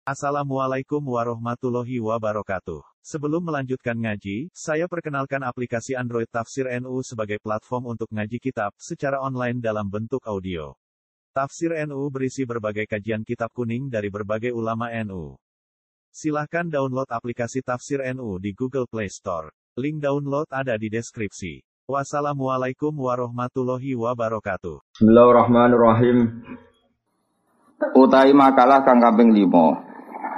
Assalamualaikum warahmatullahi wabarakatuh. Sebelum melanjutkan ngaji, saya perkenalkan aplikasi Android Tafsir NU sebagai platform untuk ngaji kitab secara online dalam bentuk audio. Tafsir NU berisi berbagai kajian kitab kuning dari berbagai ulama NU. Silahkan download aplikasi Tafsir NU di Google Play Store. Link download ada di deskripsi. Wassalamualaikum warahmatullahi wabarakatuh. Bismillahirrahmanirrahim. Utai makalah kang kaping 5.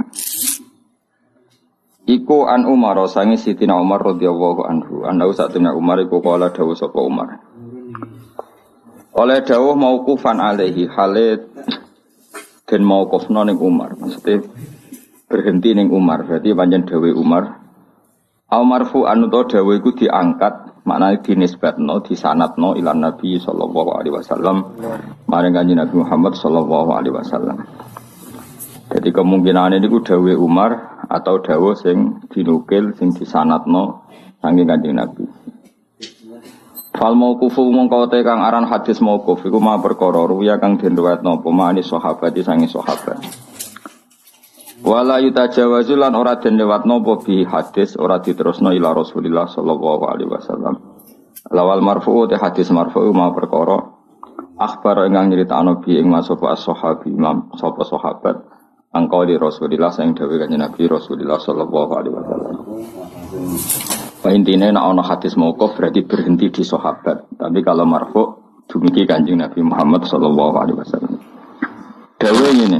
Iku an Umar sangi Sidina Umar radhiyallahu anhu. Ana satune Umar iku kala dawuh sapa Umar. Oleh dawuh mauqufan alaihi Khalid den mauqufna ning Umar. Maksudnya berhenti ning Umar. Berarti pancen dawuh Umar. Au marfu anu to dawuh iku diangkat, maknane dinisbatno, disanadno ila Nabi sallallahu alaihi wasallam. Maring Kanjeng Nabi Muhammad sallallahu alaihi wasallam. Jadi kemungkinan ini ku dawuh Umar atau dawuh sing dinukil sing disanadno saking Kanjeng Nabi. Fal mauqufu mongko te kang aran hadis mauquf iku ma perkara ruya kang den riwayatno apa mani sahabat sange sahabat. Wala yutajawazul lan ora den liwatno apa bi hadis ora diterusno ila Rasulillah sallallahu alaihi wasallam. Lawal marfu te hadis marfu ma perkara akhbar ingkang nyritakno bi ing masapa as-sahabi imam sapa sahabat angka di Rasulillah sing dawuh Kanjeng Nabi Rasulillah sallallahu alaihi wasallam. Intine nek ana hadis mauquf berarti berhenti di sahabat, tapi kalau marfu dumugi Kanjeng Nabi Muhammad sallallahu alaihi wasallam. Dawuh ngene.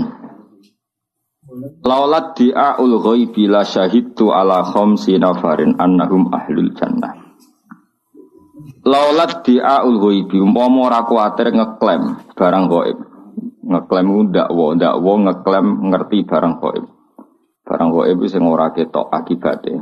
Laulat di'aul ghaibi la syahidtu ala khamsi nafarin annahum ahlul jannah. Laulat di'aul ghaibi umpama ora kuwatir ngeklaim barang gaib. Ngeklaim ndakwa ngeklaim ngerti barang gaib. Barang gaib sing ora ketok akibate.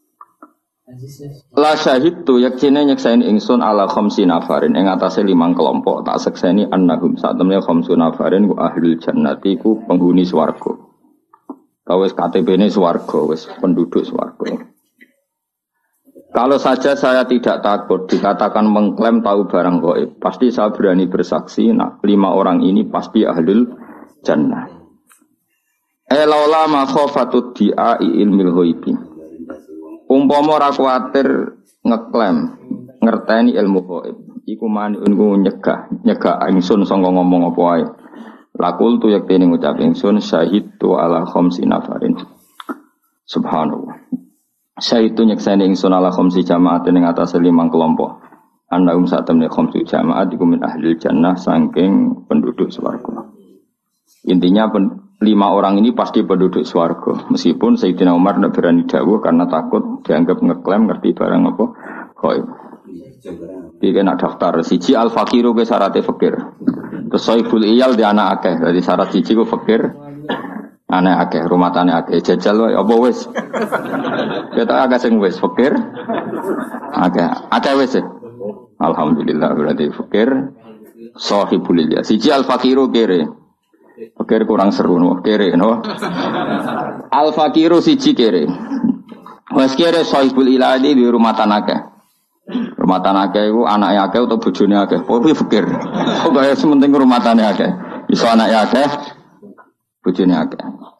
La syahidtu yaktine nyekseni ingsun ala khamsi nafarin ing atase 5 kelompok tak sekseni annahum satemene khamsu nafarin ku ahlul jannati ku penghuni swarga. Wis KTP-ne swarga, wis penduduk swarga. Kalau saja saya tidak takut dikatakan mengklaim tahu barang gaib, pasti saya berani bersaksi, 5 orang ini pasti ahlul jannah. Laula ma khafatud di'a ilmil ghaibi. Umpama ora kuwatir ngeklaim ngerteni ilmu gaib, iku maniun ku nyegah ingsun sanga ngomong apa wae. Lakul tu yaktene ngucap ingsun syahidtu ala khamsi nafarin. Subhanallah. Syahidtu nyekseni ingsun ala khamsi jama'atin ing atase 5 kelompok. Annahum satamne khamsi jama'at iku min ahli jannah saking penduduk swarga. Intinya 5 orang ini pasti penduduk swarga. Meskipun Sayyidina Umar tidak berani dawuh karena takut dianggap ngeklaim ngerti barang apa gaib. Iki nak daftar siji al-faqiru ke syaratnya fakir. Terus soiful iyal di anak akeh. Jadi syarat siji ku fakir, anak akeh, rumah tani akeh. Jajal wae apa wis? Kita agak sing wis fakir, akeh wis. Alhamdulillah berarti fakir, sohibul iyal. Siji al-faqiru kere. Fakir kurang seru no, kere no. Al-faqiru siji kere. Wes kere sohibul iyal di rumah tani akeh. Rumah tanah akeh iku anake akeh utawa bojone akeh. Pokoke fikir. Pokoke sementing rumah tanah akeh. Iso anake akeh, bojone akeh.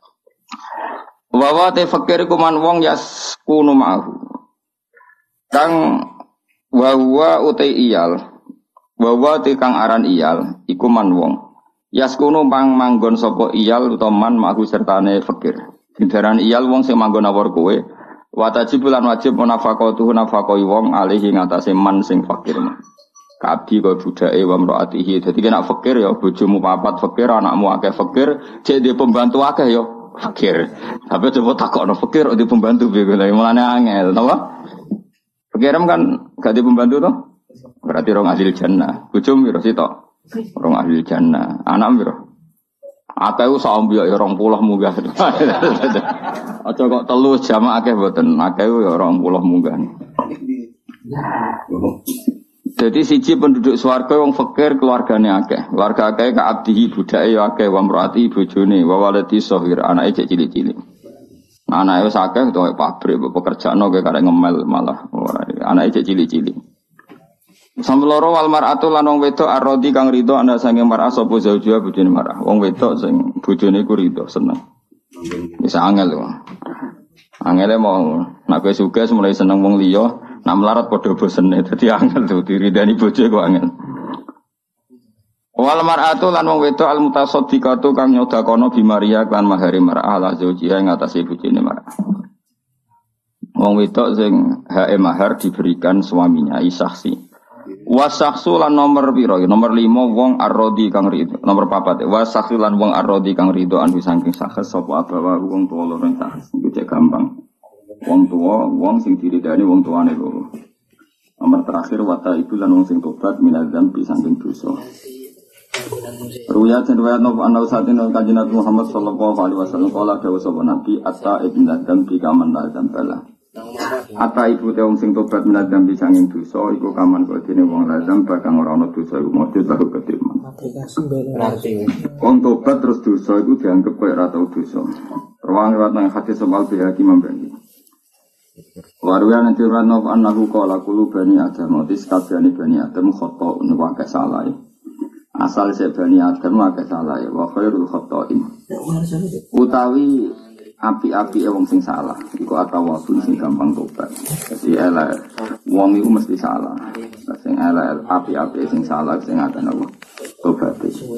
Wa te fikir iku man wong yaskunu ma'hu. Kang wa utai iyal. Wa te kang aran iyal iku man wong. Yaskunu manggon sapa iyal utawa man ma'hu sertane fikir. Didaran iyal wong sing manggon awor kowe. Wajib lan wajib nafaqatuhu nafaqoi wong alihi ngatasé man sing fakir. Kabdi kaya budake wa mraatihi. Dadi nek fakir ya bojomu papat fakir, anakmu akeh fakir, cek dhe pembantu akeh ya fakir. Tapi coba takokno fakir di pembantu piye lha mulane angel, napa? Fakirem kan gak di pembantu to? Berarti rong ahli jannah. Bojomu piro sitok? Rong ahli jannah. Anak piro? Akeh sampe ya 20 munggah. Aja kok telu jamaah akeh mboten. Akeh ya 20 munggah. Jadi siji penduduk swarga wong fakir keluargane akeh. Keluarga akeh ka abdihi budake ya akeh wa mraati bojone wa waladi shahir anake cek cilik-cilik. Anake wis akeh to pabrik pekerjaano kaya karek ngemel malah anake cek cilik-cilik. Samloro wal mar'atu lan wong wedok arodi kang rido ana sange mar'ah sapa zaujua bojone mar'ah. Wong wedok sing bojone ku rido seneng. Bisa angel lho. Angele mau nak kowe sugih mulai seneng wong liya, nak melarat padha bosene. Dadi angel tuh diridani bojo kok angel. Wal mar'atu lan wong wedok al mutasaddiqatu kang nyodakono bi Maria lan mahari mar'ah la zaujiha ing atase bojone mar'ah. Wong wedok sing hae mahar diberikan suaminya isaksi. Wasaksu lan nomor piro? Nomor 5 wong arrodi kang rido. Nomor 4 wasaksu lan wong arrodi kang rido anu saking sakes sapa abawa wong tuwa loro sakes. Iku cek gampang. Wong tuwa wong sing diridani wong tuane loro. Nomor terakhir wata itu lan wong sing tobat minadzam bi saking dosa. Ruya cenwayat nopo ana usatin kanjeng Nabi Muhammad sallallahu alaihi wasallam kala dawuh sapa Nabi atta ibn dzam bi kaman dzam bala. Atta ibu te wong sing tobat minadzam bi saking dosa iku kaman kok dene wong lazam bakang ora ana dosa iku mesti tahu ketirman. Wong tobat terus dosa iku dianggep koyo ora tau dosa. Ruang liwat nang hati soal bihaki membeni. Waruya nanti rano annahu qala qulu bani adam otis kabehane bani adam khata niku akeh salah. Asal se bani adam akeh salah wa khairul khata'in. Utawi api-api wong sing salah iku atawabun sing gampang tobat. Jadi elek wong iku mesti salah. Sing elek api-api sing salah sing akan apa tobat.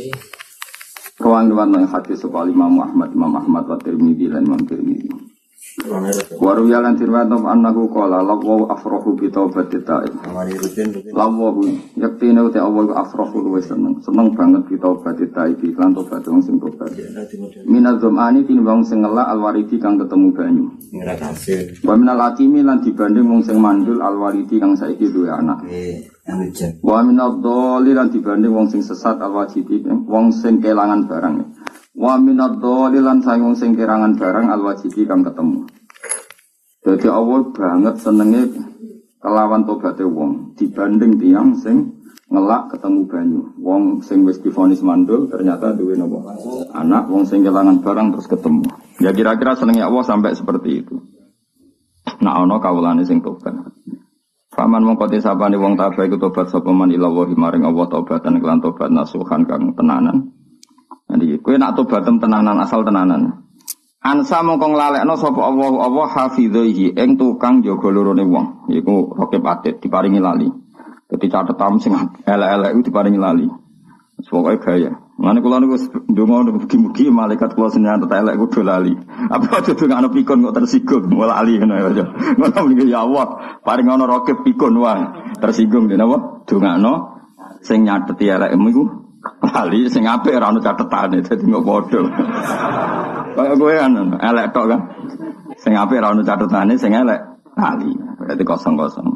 Ruang liwat nang hati soal Imam Ahmad wa Tirmidzi lan Imam Tirmidzi. Waru yalan tirwatom annahu qala lawu afrahu bi taubati ta'ib. Lawu yaktine uti Allah afrahu luwes seneng banget bi taubati ta'ib lan tobat wong sing tobat. Minadzumani tinimbang sing ngelak alwaridi kang ketemu banyu. Wa minal atimi lan dibanding wong sing mandul alwaridi kang saiki duwe anak. Wa minadh-dhalil lan dibanding wong sing sesat alwajidi wong sing kelangan barang. Wa minadh-dhalil lan wong sing kelangan barang alwajidi kang ketemu. Jadi Allah banget senenge kelawan tobaté wong dibanding tiyang sing ngelak ketemu banyu. Wong sing wis divonis mandul ternyata duwe napa? Anak, wong sing kelangan barang terus ketemu. Ya kira-kira senenge Allah sampai seperti itu. Nah ana kawulane sing tobat. Faman mongko disapane wong tabah iku tobat sapa man ila wa maring Allah tobatan kelan tobat nasuhan kang tenanan. Jadi kowe nak tobat tenanan asal tenanan. Ansa mongko nglalekno sapa Allah hafizaihi ing tukang jaga lorone wong. Iku rokib atit diparingi lali. Dadi catetam sing elek-elek iku diparingi lali. Pokoke gaya. Mane kula niku ndonga mugi-mugi malaikat kula senjata elek kudu lali. Apa aja dongakno pikun kok tersinggung malah lali ngono ya. Ngono mriki ya Allah, paring ana rokib pikun wae. Tersinggung dene apa? Dongakno sing nyateti elekmu iku lali sing apik ora ono catetane dadi kok padha. Kaya kowe kan elek tok kan. Sing apik ora ono catetane sing elek lali. Berarti kosong-kosong.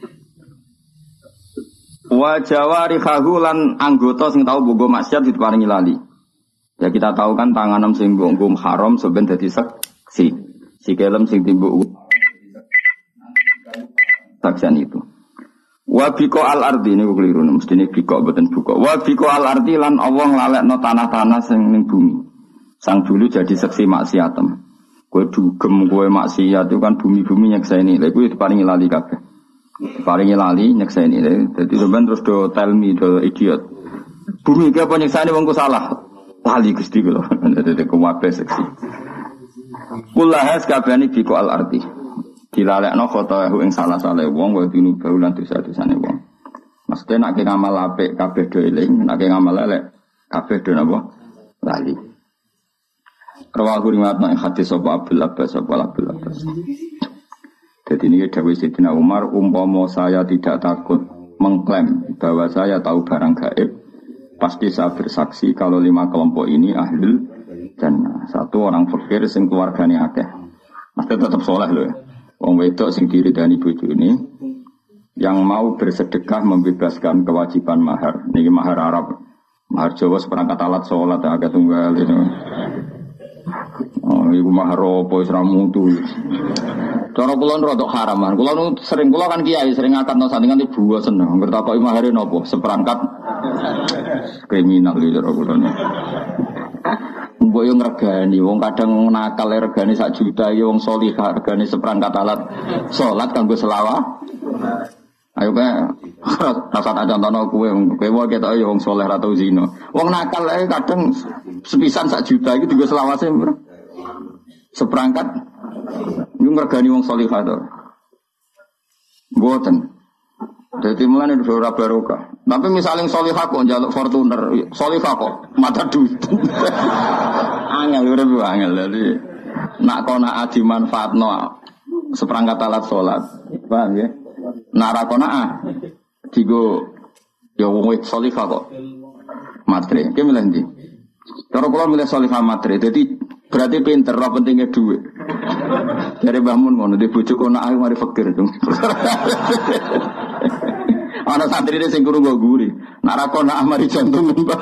Wa jawarihahu lan anggota sing tau bogo maksiat diparingi lali. Ya kita tahu kan tanganem sing bogo haram sampeyan dadi saksi. Sikelem sing timbuk saksian itu. Wa biko al ardi niku keliru mestine biko mboten buka. Wa biko al ardi lan Allah nglalekno tanah-tanah sing ning bumi. Sang dulu jadi saksi maksiatem. Kowe dugem kowe maksiat itu kan bumi-bumi nyekseni. Lha kuwi diparingi lali kabeh. Paling lali nyekseni dadi sampean terus do tell me do idiot. Bumi iki apa nyekseni wongku salah. Lali Gusti kula. Dadi kuwabe seksi. Kullahas kabehane biko al arti. Dilalekno khotohu ing salah-salah wong wa dinu baulan dosa-dosane wong. Mesti nek ngamal apik kabeh do eling, nek ngamal elek kabeh do napa? Lali. Rawahu riwayat nang hadis sapa Abdul Abbas sapa Abdul Abbas. Jadi ini dawuh Sayyidina Umar, umpama saya tidak takut mengklaim bahwa saya tahu barang gaib, pasti saya bersaksi kalau 5 kelompok ini ahlul jannah. 1 orang fakir sing keluargane akeh. Mesti tetap soleh loh. Wong wedok sing diridani bojone yang mau bersedekah membebaskan kewajiban mahar. Niki mahar Arab. Mahar Jawa seperangkat alat salat agak tunggal itu. Oh, iku mahar apa wis ra mutu. Cara kula rodok haraman. Kula kan kiai sering akad sandingan ibu seneng. Ngertakoki mahare napa? Seperangkat kriminal iki cara kula. Mbok yo ngregani wong kadang nakal regane 1 juta ya wong salihah regane seperangkat alat salat kanggo selawat. Ayo kae rasa contohno kowe wae ketok ya wong saleh ra tau zina. Wong nakal ae kadang sepisan 1 juta iki dienggo selawase. seperangkat niku ngregani wong salihah to. Mboten. Dadi mulane ora barokah. Tapi misalnya salihah kok njaluk Fortuner, salihah kok mata duit. Angel ora angel dadi nak kona adi manfaatno seperangkat alat salat. Paham ya? Nak ra kona digo ya wong salihah kok matre. Ki milih ndi? Cara kula milih salihah matre. Dadi berarti pinter, ora pentingnya duit. Dari Mbah Mun ngono, di bojo kono ae mari fakir. Ana santrine sing guru go guri. Nak ra kono mari jantung Mbah.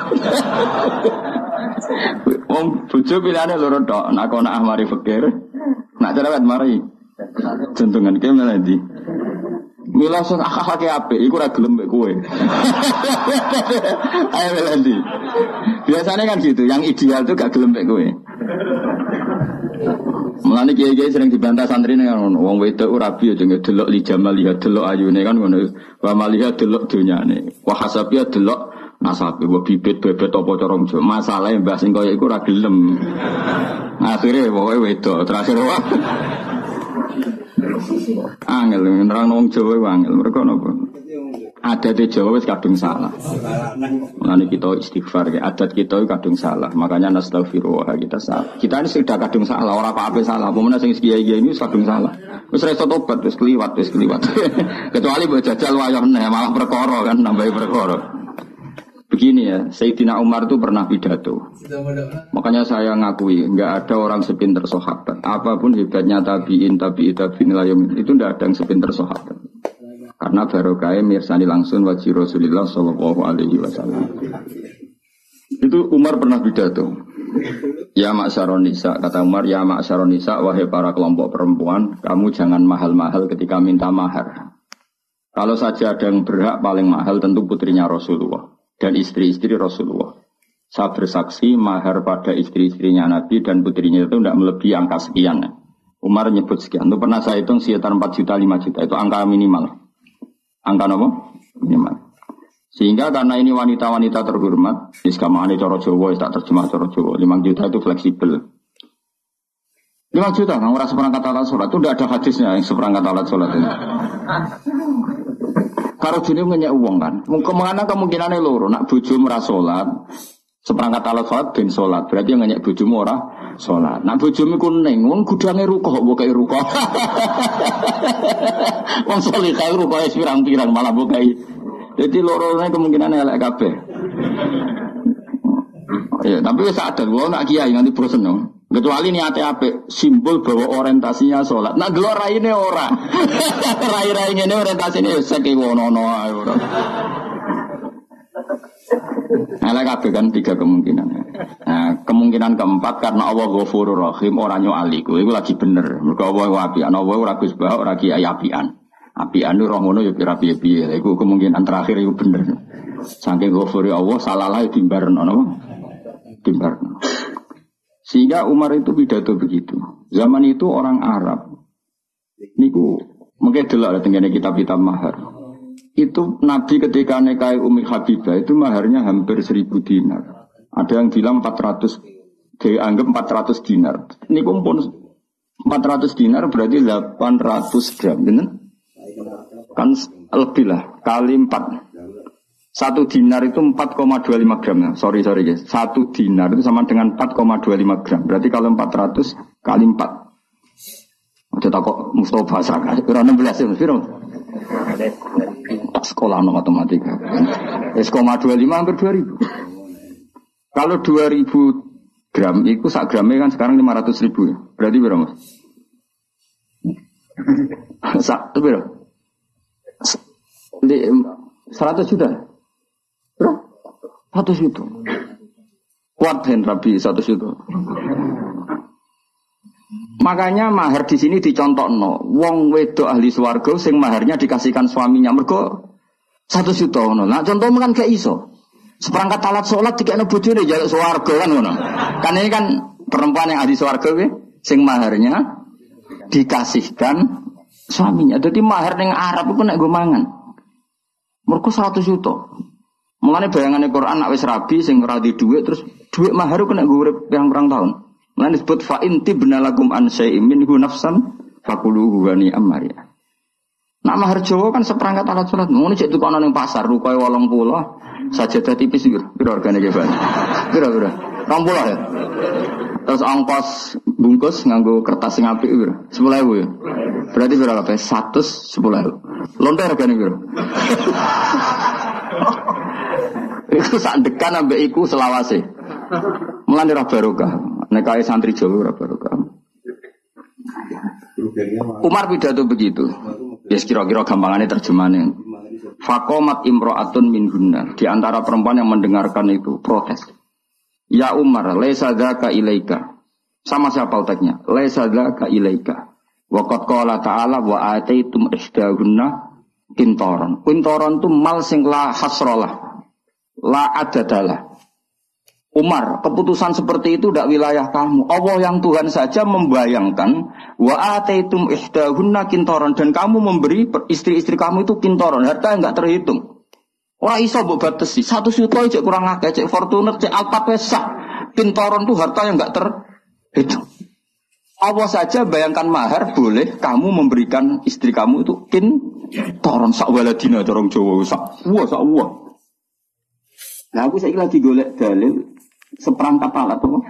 Wong bojo pilihane loro tok, nak kono mari fakir. Nak cerewet mari jantungan ki malah ndi. Mila sing akhlake apik iku ora gelem mek kowe. Ayo Melandi. Biasanya kan gitu, yang ideal tuh gak gelem mek kowe. Mulane kiai-kiai sering dibantah santri ning ngono, wong wedok ora rabi aja ngedelok li jamal lihat delok ayune kan ngono. Wa maliha delok donyane. Wa hasabiya delok nasabe, wa bibit bebet apa cara Jawa. Masalahe mbah sing kaya iku ora gelem. Akhire pokoke wedok terakhir wae. Angel nerang wong Jawa angel mereka napa? Adat Jawa wis kadung salah. Mulane kita istighfar ya, adat kita kadung salah. Makanya nastaghfirullah kita salah. Kita ini sudah kadung salah, ora apa-apa salah. Pemenang sing kiai-kiai ini kadung salah. Wis ra iso tobat, wis kliwat. Kecuali mbok jajal wayah neh malah perkara kan nambahi perkara. Begini ya, Sayyidina Umar itu pernah pidato. Makanya saya ngakui, enggak ada orang sepinter sahabat. Apapun hebatnya tabi'in itu enggak ada yang sepinter sahabat. Karena barokah mirsani langsung wajib Rasulullah sallallahu alaihi wasallam. Itu Umar pernah pidato. Ya ma'syaron nisa, kata Umar, ya ma'syaron nisa, wahai para kelompok perempuan, kamu jangan mahal-mahal ketika minta mahar. Kalau saja ada yang berhak paling mahal tentu putrinya Rasulullah dan istri-istri Rasulullah. Saya bersaksi mahar pada istri-istrinya Nabi dan putrinya itu tidak melebihi angka sekian. Umar nyebut sekian. Itu pernah saya hitung sekitar 4 juta, 5 juta. Itu angka minimal. Angka apa? Minimal. Sehingga karena ini wanita-wanita terhormat, iskamane cara Jawa, tak terjemah cara Jawa. 5 juta itu fleksibel. 5 juta, nggak merasa seperangkat alat sholat. Itu tidak ada hadisnya yang seperangkat alat sholat ini. Kalau dunia ngenyek uang kan, kemana kemungkinannya loro, nak bojo merasa sholat, seperangkat alat sholat ben sholat, berarti yang ngenyek bojomu ora sholat. Nak bojomu kuning, wong gudangnya rukoh, bukai rukoh, wong solihah rukoh es pirang-pirang malah bukai. Jadi lorone kemungkinannya elek kabeh. Ya, tapi saat ada, wong nak kiai nanti bosen dong. Kecuali niatnya apik, simbol bahwa orientasinya sholat. Nah, gelor raine ora. Rai-rai ngene orientasine seki wono-wono ae ora. Ala kabeh kan 3 kemungkinan. Nah, kemungkinan keempat karena Allah Ghafurur Rahim ora nyuali. Kuwi lagi bener. Mergo Allah apian, Allah ora Gus Bah, ora kiai apian. Apian roh ngono ya piye-piye. Iku kemungkinan terakhir iku bener. Saking Ghafuri Allah salalah dimbarno napa? Dimbarno. Sehingga Umar itu pidato begitu. Zaman itu orang Arab, niku mungkin delok tengene kitab-kitab mahar. Itu Nabi ketika nikahi Ummi Habibah itu maharnya hampir 1000 dinar. Ada yang bilang 400, dianggap 400 dinar. Niku pun 400 dinar berarti 800 gram, bener? Kan lebih lah, kali 4. 1 dinar itu 4,25 gram. Sorry guys. 1 dinar itu sama dengan 4,25 gram. Berarti kalau 400 kali 4. Ada takut Mustafa Saka. Kira 16 ya, Mas. Sekolah no matematika. 1,25 hampir 2000. Kalau 2000 gram itu sak gramnya kan sekarang 500.000 ya. Berarti berapa, Mas? Itu berapa? 100 juta. Berapa? 100 juta. Kuat hen Rabi 100 juta. Makanya mahar di sini dicontohno. Wong wedok ahli swarga sing maharnya dikasihkan suaminya mergo 100 juta ngono. Nah contoh kan gak iso. Seperangkat alat sholat dikene bojone jaluk swarga kan ngono. Kan ini kan perempuan yang ahli swarga sing maharnya dikasihkan suaminya. Jadi mahar ning Arab iku nek go mangan. Mergo 100 juta. Mulane bayangane Quran nek wis rabi sing ora di dhuwit terus dhuwit mahar kena nggo urip pirang-pirang tahun. Lan disebut fa inti benalakum an syai'in minhu nafsan fakuluhu wa ni'am mariya. Nak mahar Jawa kan seperangkat alat salat. Ngono cek tukono ning pasar rupae 80, sajadah tipis piro regane ge, Pak? Piro? 20 ya. Terus ongkos bungkus nganggo kertas sing apik piro? 10.000 ya. Berarti piro kabeh? 110.000. Lonte regane piro? Iku sak dekan ambek iku selawase. Mulane ora barokah. Nek kae santri Jawa ora barokah. Umar pidato begitu. Ya kira-kira gampangannya terjemahannya. Fakomat imro'atun min gunnar. Di antara perempuan yang mendengarkan itu protes. Ya Umar, laisa dzaka ilaika. Sama siapa uteknya? Laisa dzaka ilaika. Wa qad qala ta'ala wa ataitum ihdahunna qintaran. Qintaran itu mal sing la hasralah. La adadalah. Umar, keputusan seperti itu tidak wilayah kamu. Allah yang Tuhan saja membayangkan wa ataitum ihdahunna qintaran, dan kamu memberi istri-istri kamu itu qintaran, harta yang enggak terhitung. Ora iso mbok batesi. 1 juta cek kurang akeh, cek Fortuner, cek Alphard pesah. Qintaran itu harta yang enggak terhitung. Allah saja bayangkan mahar boleh kamu memberikan istri kamu itu qintaran sak waladina corong Jawa sak. Wah. Nah aku saiki lagi golek dalil seperangkat alat apa?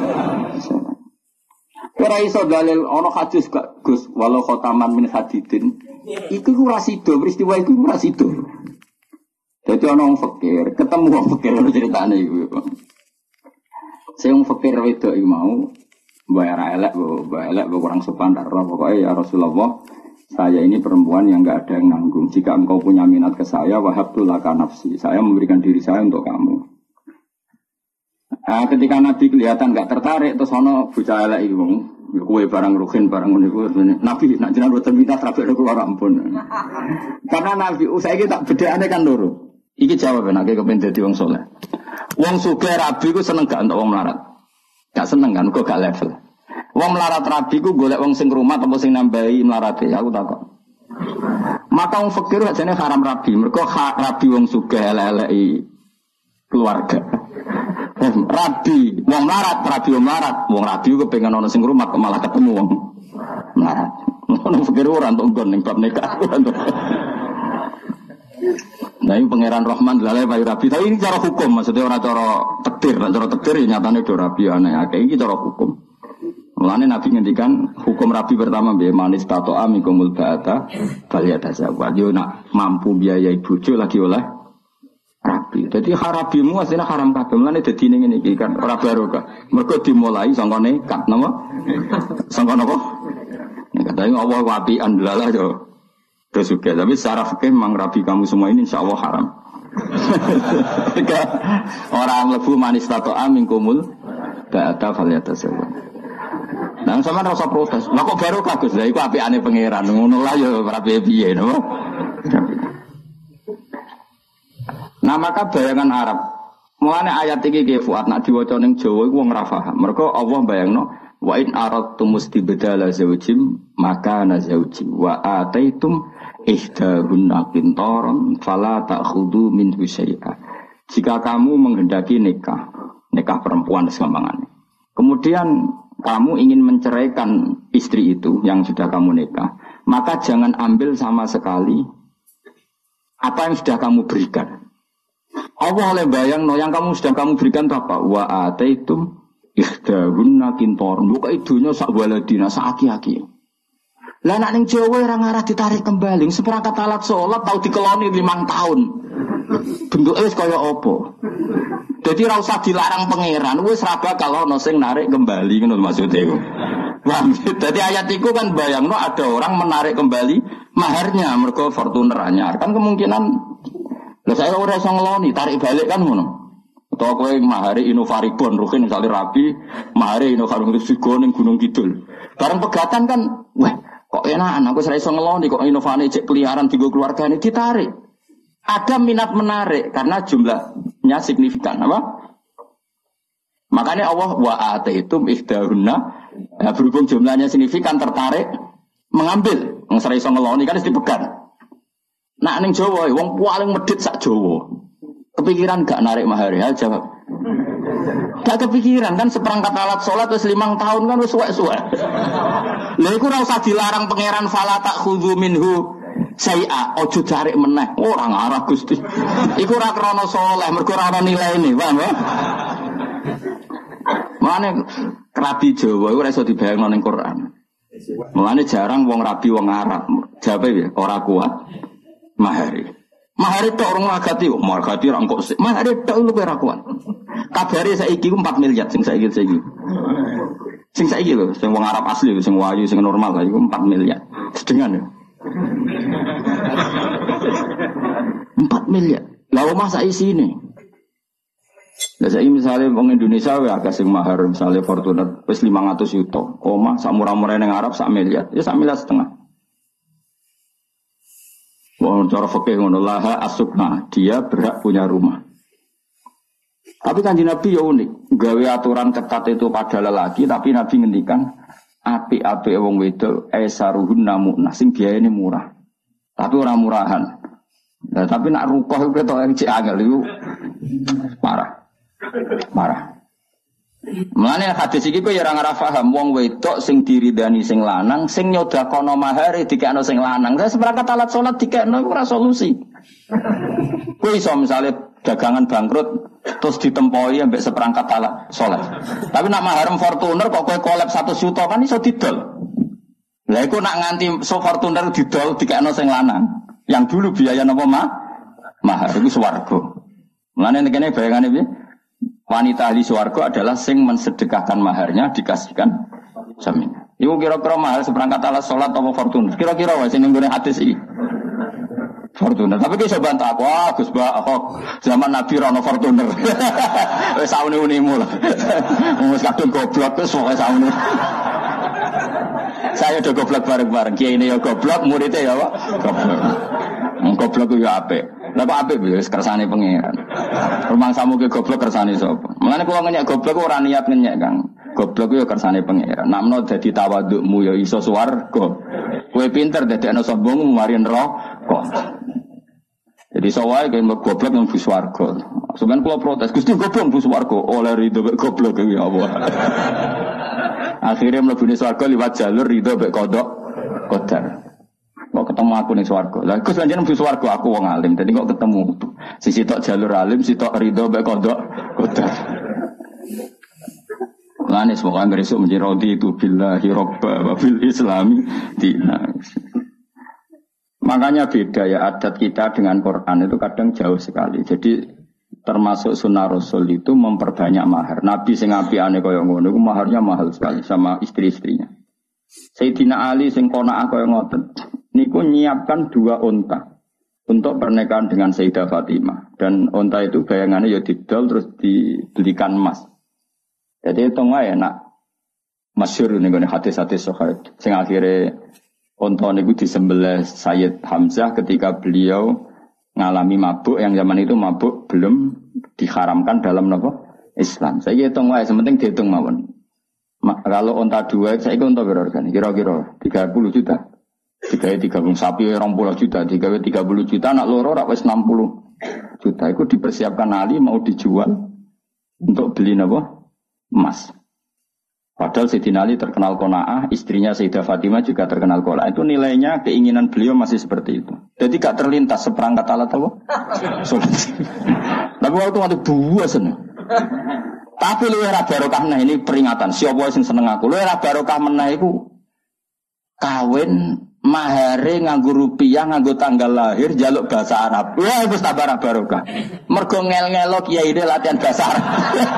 Ora iso dalil ana hadis gak Gus walau khotaman min hadidin. Iku ora sida, peristiwa iku ora sida. Dadi ana wong fakir, ketemu wong fakir ono ceritane iku. Sing wong fakir wedok iku mau bayar elek kurang sopan ora pokoke ya Rasulullah. Saya ini perempuan yang enggak ada yang nanggung. Jika engkau punya minat ke saya, wahabtu laka nafsi. Saya memberikan diri saya untuk kamu. Nah, ketika Nabi kelihatan enggak tertarik, terus ono bocah elek iki wong, kowe barang ruhin barang ngene iku. Nabi nak jenengan boten minat rapi keluar ampun. Karena Nabi saiki tak bedakane kan loro. Iki jawaban nek kepen dadi wong saleh. Wong sugih rabi ku seneng gak entuk wong melarat. Gak seneng kan kok gak level. Wong melarat rabi ku golek wong sing rumah apa sing nambahi melarate, aku takok. Maka wong fakir ajane haram rabi, mergo rabi wong sugih elek-eleki keluarga. Rabi wong melarat, wong rabi ku pengen ana sing rumah kok malah ketemu wong melarat. Wong fakir ora entuk nggon ning bab nikah. Nah ini pangeran Rahman lalai bayi rabi, tapi ini cara hukum, maksudnya orang cara takdir, cara takdir nyatanya do rabi aneh, kayak ini cara hukum. Mulane Nabi ngendikan hukum rabi pertama biaya manis tato amikumul ba'ata baliyata zawat. Yo nak mampu biayai bojo lagi oleh rabi. Jadi harabimu aslinya haram kabeh. Mulane dadi ngene iki kan ora barokah. Mergo dimulai sangka nekat napa? Sangka napa? Katanya Allah wabi'an lalah yo. Terus juga, tapi secara fikih memang rabi kamu semua ini insya Allah haram. Orang lebu manis tato amikumul ba'ata baliyata zawat. Nah, sama rasa protes. Lah kok baru kagus lah iku apikane pangeran. Ngono lah ya ora piye-piye napa. Nah, maka bayangan Arab. Mulane ayat iki nggih Fuad nek diwaca ning Jawa iku wong ora paham. Mergo Allah bayangno wa in aradtum mustibdala zawjim maka nazauji wa ataitum ihdahunna qintaran fala ta'khudhu minhu syai'a. Jika kamu menghendaki nikah perempuan segampangannya. Kemudian kamu ingin menceraikan istri itu yang sudah kamu nikah, maka jangan ambil sama sekali apa yang sudah kamu berikan. Allah oleh bayang yang kamu sudah kamu berikan itu apa? Wa ataitum ihdahunna qintaran. Buka idunya sak waladina sak aki-aki. Lah nek ning Jawa ora ngarah ditarik kembali, seperangkat alat salat tau dikeloni 5 tahun. Bentuke wis kaya apa? Jadi ora usah dilarang pangeran, wis ra bakal ono sing narik kembali ngono maksudnya iku. Jadi ayat itu kan bayangno ada orang menarik kembali maharnya mergo Fortuner anyar. Kan kemungkinan lha saya ora iso ngeloni, tarik balik kan ngono. Utawa kowe mahari Innovaribon ruhin misale rapi, mahari Innovaribon Sigo ning Gunung Kidul. Bareng pegatan kan, wah kok enakan aku ora iso ngeloni kok Innovane cek peliharaan digo keluargane ditarik. Ada minat menarik karena jumlahnya signifikan apa? Makanya Allah wa ataitum ihdahunna berhubung jumlahnya signifikan tertarik mengambil wong ora iso ngeloni kan wis dipegat. Nak ning Jawa wong paling medhit sak Jawa. Kepikiran gak narik mahar ya jawab. Gak kepikiran kan seperangkat alat sholat wis 5 tahun kan wis suwek-suwek. Lha iku ora usah dilarang pangeran fala takhudhu minhu saya ojo cari meneh orang arah Gusti. Iku ora krana saleh, mergo ora ana nilaine, paham ya? Mane rabi Jawa iku ora iso dibayangno ning Quran. Mulane jarang wong rabi wong Arab. Jawabe ya ora kuat. Mahari tok orang agati, margati ra engko sik. Mahari tok lu ora kuat. Kabare saiki ku 4 miliar sing saiki. Sing saiki lho, sing wong Arab asli, sing wayu, sing normal iku 4 miliar. Sedengan ya. 4 miliar. Lah omah sak isine. Lah saiki misale wong Indonesia wae akeh sing mahar misale Fortuner wis 500 juta. Omah sak murah-murah ning Arab sak miliar. Ya sak miliar setengah. Wong cara fikih ngono laha asukna, dia berhak punya rumah. Tapi Kanjeng Nabi ya unik, gawe aturan ketat itu pada lelaki, tapi Nabi ngendikan apik-apik wong wedok esaruhun namuna sing biayane murah. Tapi ora murahan. Nah, tapi nak rukoh iku ketok cek angel iku parah. Mulane hadis iki kowe ya ora paham wong wedok sing diridani sing lanang sing nyodakono mahare dikekno sing lanang. Saya seperangkat alat salat dikekno ora solusi. Kowe iso misale dagangan bangkrut terus ditempoi ambek seperangkat alat salat. Tapi nak maharem Fortuner kok kowe kolab 1 juta kan iso didol. Lah iku nak nganti Fortuner didol dikekno sing lanang. Yang dulu biaya napa mahar iku swarga. Mulane kene bayangane piye? Wanita ahli swarga adalah sing mensedekahkan maharnya dikasihkan suaminya. Iku kira-kira mahar seperangkat alat salat atau Fortuner. Kira-kira wae sing nggone hadis iki. Fortuner. Tapi ki iso bantah aku, Gus Ba, zaman Nabi ra ono Fortuner. Wis saune-unimu lah. Wis kadung goblok wis pokoke saune. Saya udah goblok bareng-bareng. Kiai ini ya goblok, muridnya ya apa? Goblok. Goblok itu ya apik. Lah kok apik wis kersane pangeran. Rumang samu ke goblok kersane sapa? Mulane kula ngenyek goblok ora niat ngenyek, Kang. Goblok yo kersane pangeran. Namno dadi tawadukmu ya iso swarga. Kowe pinter dadekno sombongmu mari neraka. Jadi sawai kayak goblok yang bus warga. Sebenarnya kalau protes, Gusti goblok bus warga. Oleh ridho bek goblok ya Allah. Akhirnya mlebu swarga liwat jalur ridho bek kodok kodar. Kok ketemu aku ning swarga. Lah Gus panjenengan bus warga aku wong alim. Dadi kok ketemu. Sisi tok jalur alim, sisi tok ridho bek kodok kodar. Lane semoga besok menjadi rodi itu billahi robba wa bil islami dina. Makanya beda ya adat kita dengan Quran itu kadang jauh sekali. Jadi termasuk sunnah Rasul itu memperbanyak mahar. Nabi sing apikane kaya ngono iku maharnya mahal sekali sama istri-istrinya. Sayyidina Ali sing qanaah kaya ngoten. Niku nyiapkan 2 unta untuk pernikahan dengan Sayyidah Fatimah. Dan unta itu bayangannya ya didol terus dibelikan emas. Jadi itu wae nak masyhur ning hadis-hadis sahih sing akhire unta niku disembelih Sayyid Hamzah ketika beliau ngalami mabuk yang zaman itu mabuk belum diharamkan dalam Islam. Saya hitung wae, sementing dihitung mawon. Kalau unta 2, saya unta berorgan kira-kira 30 juta. Digawe 30 sapi 20 juta, digawe 30 juta anak loro rak wis 60 juta. Iku dipersiapkan Ali mau dijual untuk beli emas. Padahal Sayyidina Ali terkenal qanaah, istrinya Sayyidah Fatimah juga terkenal qanaah. Itu nilainya keinginan beliau masih seperti itu. Jadi gak terlintas seperangkat alat apa? Tapi waktu buasen. Tapi lu ora barokah nah ini peringatan. Siapa sing seneng aku? Lu ora barokah meneh iku kawin mahare nganggo rupiah, nganggo tanggal lahir, jaluk bahasa Arab. Wah, wis tambah barokah. Mergo ngel-ngelo kiyaine latihan bahasa Arab.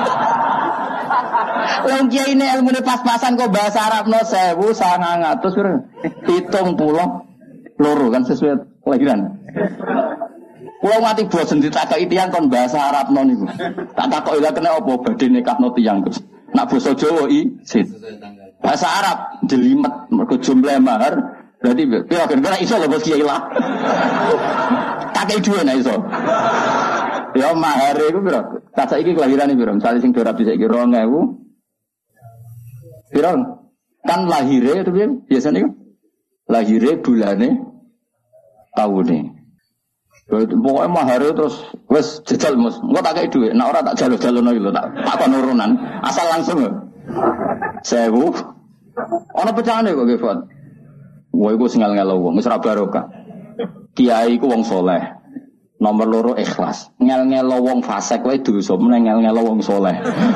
Wong kiai ini ilmune pas-pasan kok bahasa Arab no 1900 70 kan sesuai kelahiran. Kulo mati bosen ditakoki tiyang kon bahasa Arab no niku. Tak takoki lha kena apa badhe nikahno tiyang Gus. Nak basa Jawa bahasa Arab jelimet mergo jumlah mahar berarti piro kira iso lho Bos Kiai lah. Tak kei dhuwit nek iso. Ya mahar iku piro? Tak saiki kelahirane piro? Misale sing ora bisa iki 2000 piro? Kan lahire itu biasanya kan lahire bulane tahune. Pokoknya mahar terus wes jajal mus. Engko tak kei dhuwit, nek ora tak jalo-jalono iki lho tak kon urunan. Asal langsung lho. 1000. Ana pecahane kok nggih, Fat. Wah iku sing ngel-ngelo wong, wis ora barokah. Kiai iku wong saleh. Nomor 2 ikhlas. Ngel-ngelo wong fasik wae dosa, meneng ngel-ngelo wong saleh.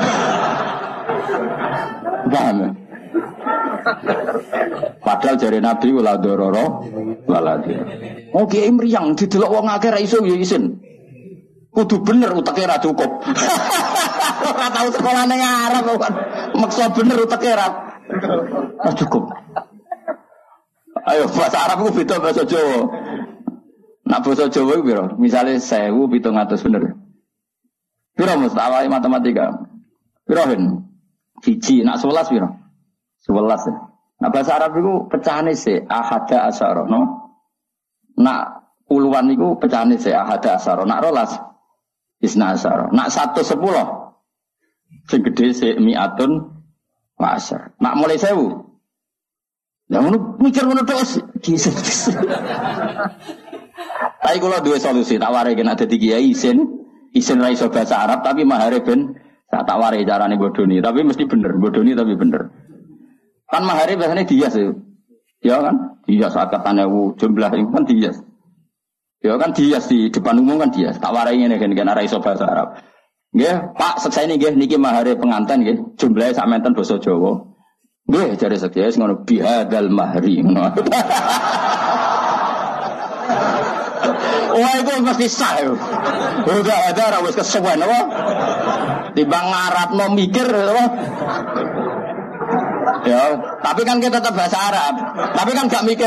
Paham? Padahal jare Nabi wala dororo wala dir. Oh kiai mriyang didelok wong akeh ra iso ya isin. Kudu bener uteke ra cukup. Ora tau sekolah ning Arab kok. Maksa bener uteke ra cukup. Ayo bahasa Arab ku beda bahasa Jawa. Nak bahasa Jawa ku piro? Misale 1700 bener. Piro mustawai matematika? Piro hen? Siji nak 11 piro? 11 ya. Nah bahasa Arab itu pecahane se ahada asyara no. Nak puluhan itu pecahane se ahada asyara. Nak rolas isna asyara. Nak 110 sing gede se mi'atun wa asyar. Nak mulai 1000. Ya ngono mikir ngono tok. Tapi kula duwe solusi tak ware nek dadi kiai isin ra iso bahasa Arab tapi mahare ben tak ware carane bodoni tapi mesti bener bodoni tapi bener. Kan mahari biasanya dihias ya kan? Dihias akatane jumlah itu kan dihias. Ya kan dihias di depan umum kan dihias. Tak warai ngene kan ora iso bahasa Arab. Nggih, Pak, sekseni nggih niki mahari pengantin nggih, jumlahe sak menten basa Jawa. Nggih, jare sekseni ngono bihadal mahri ngono. Wah, itu mesti sah. Udah ada wis kesuwen apa? Timbang ngarapno mikir apa? Ya, tapi kan kita tetap bahasa Arab. Tapi kan gak mikir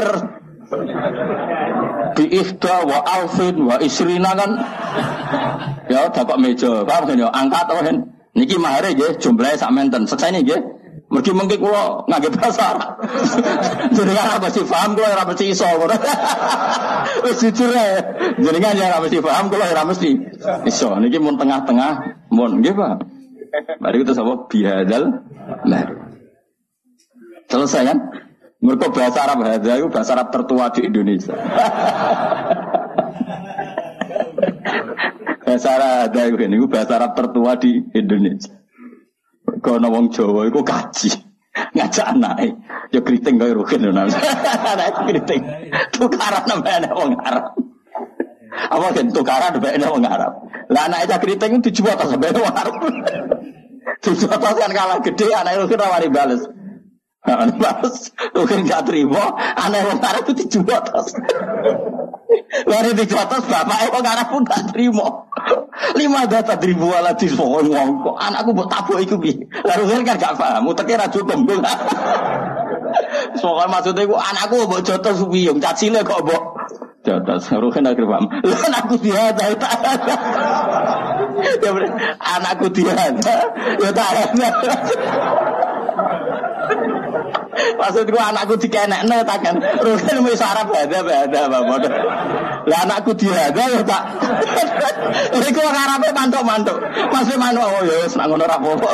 bi'ifda wa alfin wa isrina kan. Ya, dapat meja. Paham kan ya? Angkat apa kan? Niki mahare nggih, jumlahe sak menten. Seksene nggih. Mergi mengki kula ngangge bahasa Arab. Jenengan ora mesti paham kula ora mesti iso. Wis jujur ae. Jenengan ora mesti paham kula ora mesti iso. Niki mun tengah-tengah, mun nggih, Pak. Mari kita sapa bihadal lah. Selesai kan? Mereka bahasa Arab hadza itu bahasa Arab tertua di Indonesia. Bahasa Arab hadza itu bahasa Arab tertua di Indonesia. Kono wong Jawa iku kaji. Ngajak anake. Ya kriting kaya rugen ana. Anak kriting. Tukaran nambah wong Arab. Apa kan tukaran nambah wong Arab. Lah anak itu kriting dijual ta sampe wong Arab. Dijual kan kalah gede anak rugen rawani bales. Balas, mungkin gak terima, anak yang Arab itu dijual terus. Lalu dijual terus, bapak yang Arab pun gak terima. 5 data ribu ala di sekolah ngomong, anakku buat tabu itu bi. Lalu kan gak paham, utaknya raju tembung. Soalnya maksudnya anakku buat jodoh subiyung, cacile kok buat jodoh. Lalu kan gak paham. Lalu anakku dihada, ya bener, anakku dihada, ya tak ada. Maksudku anakku dikenekne tak kan. Rugen wis Arab ada Bapak. Lah anakku dihada ya tak. Iku wong Arabe mantuk-mantuk. Masih mantuk oh ya wis nak ngono ra apa-apa.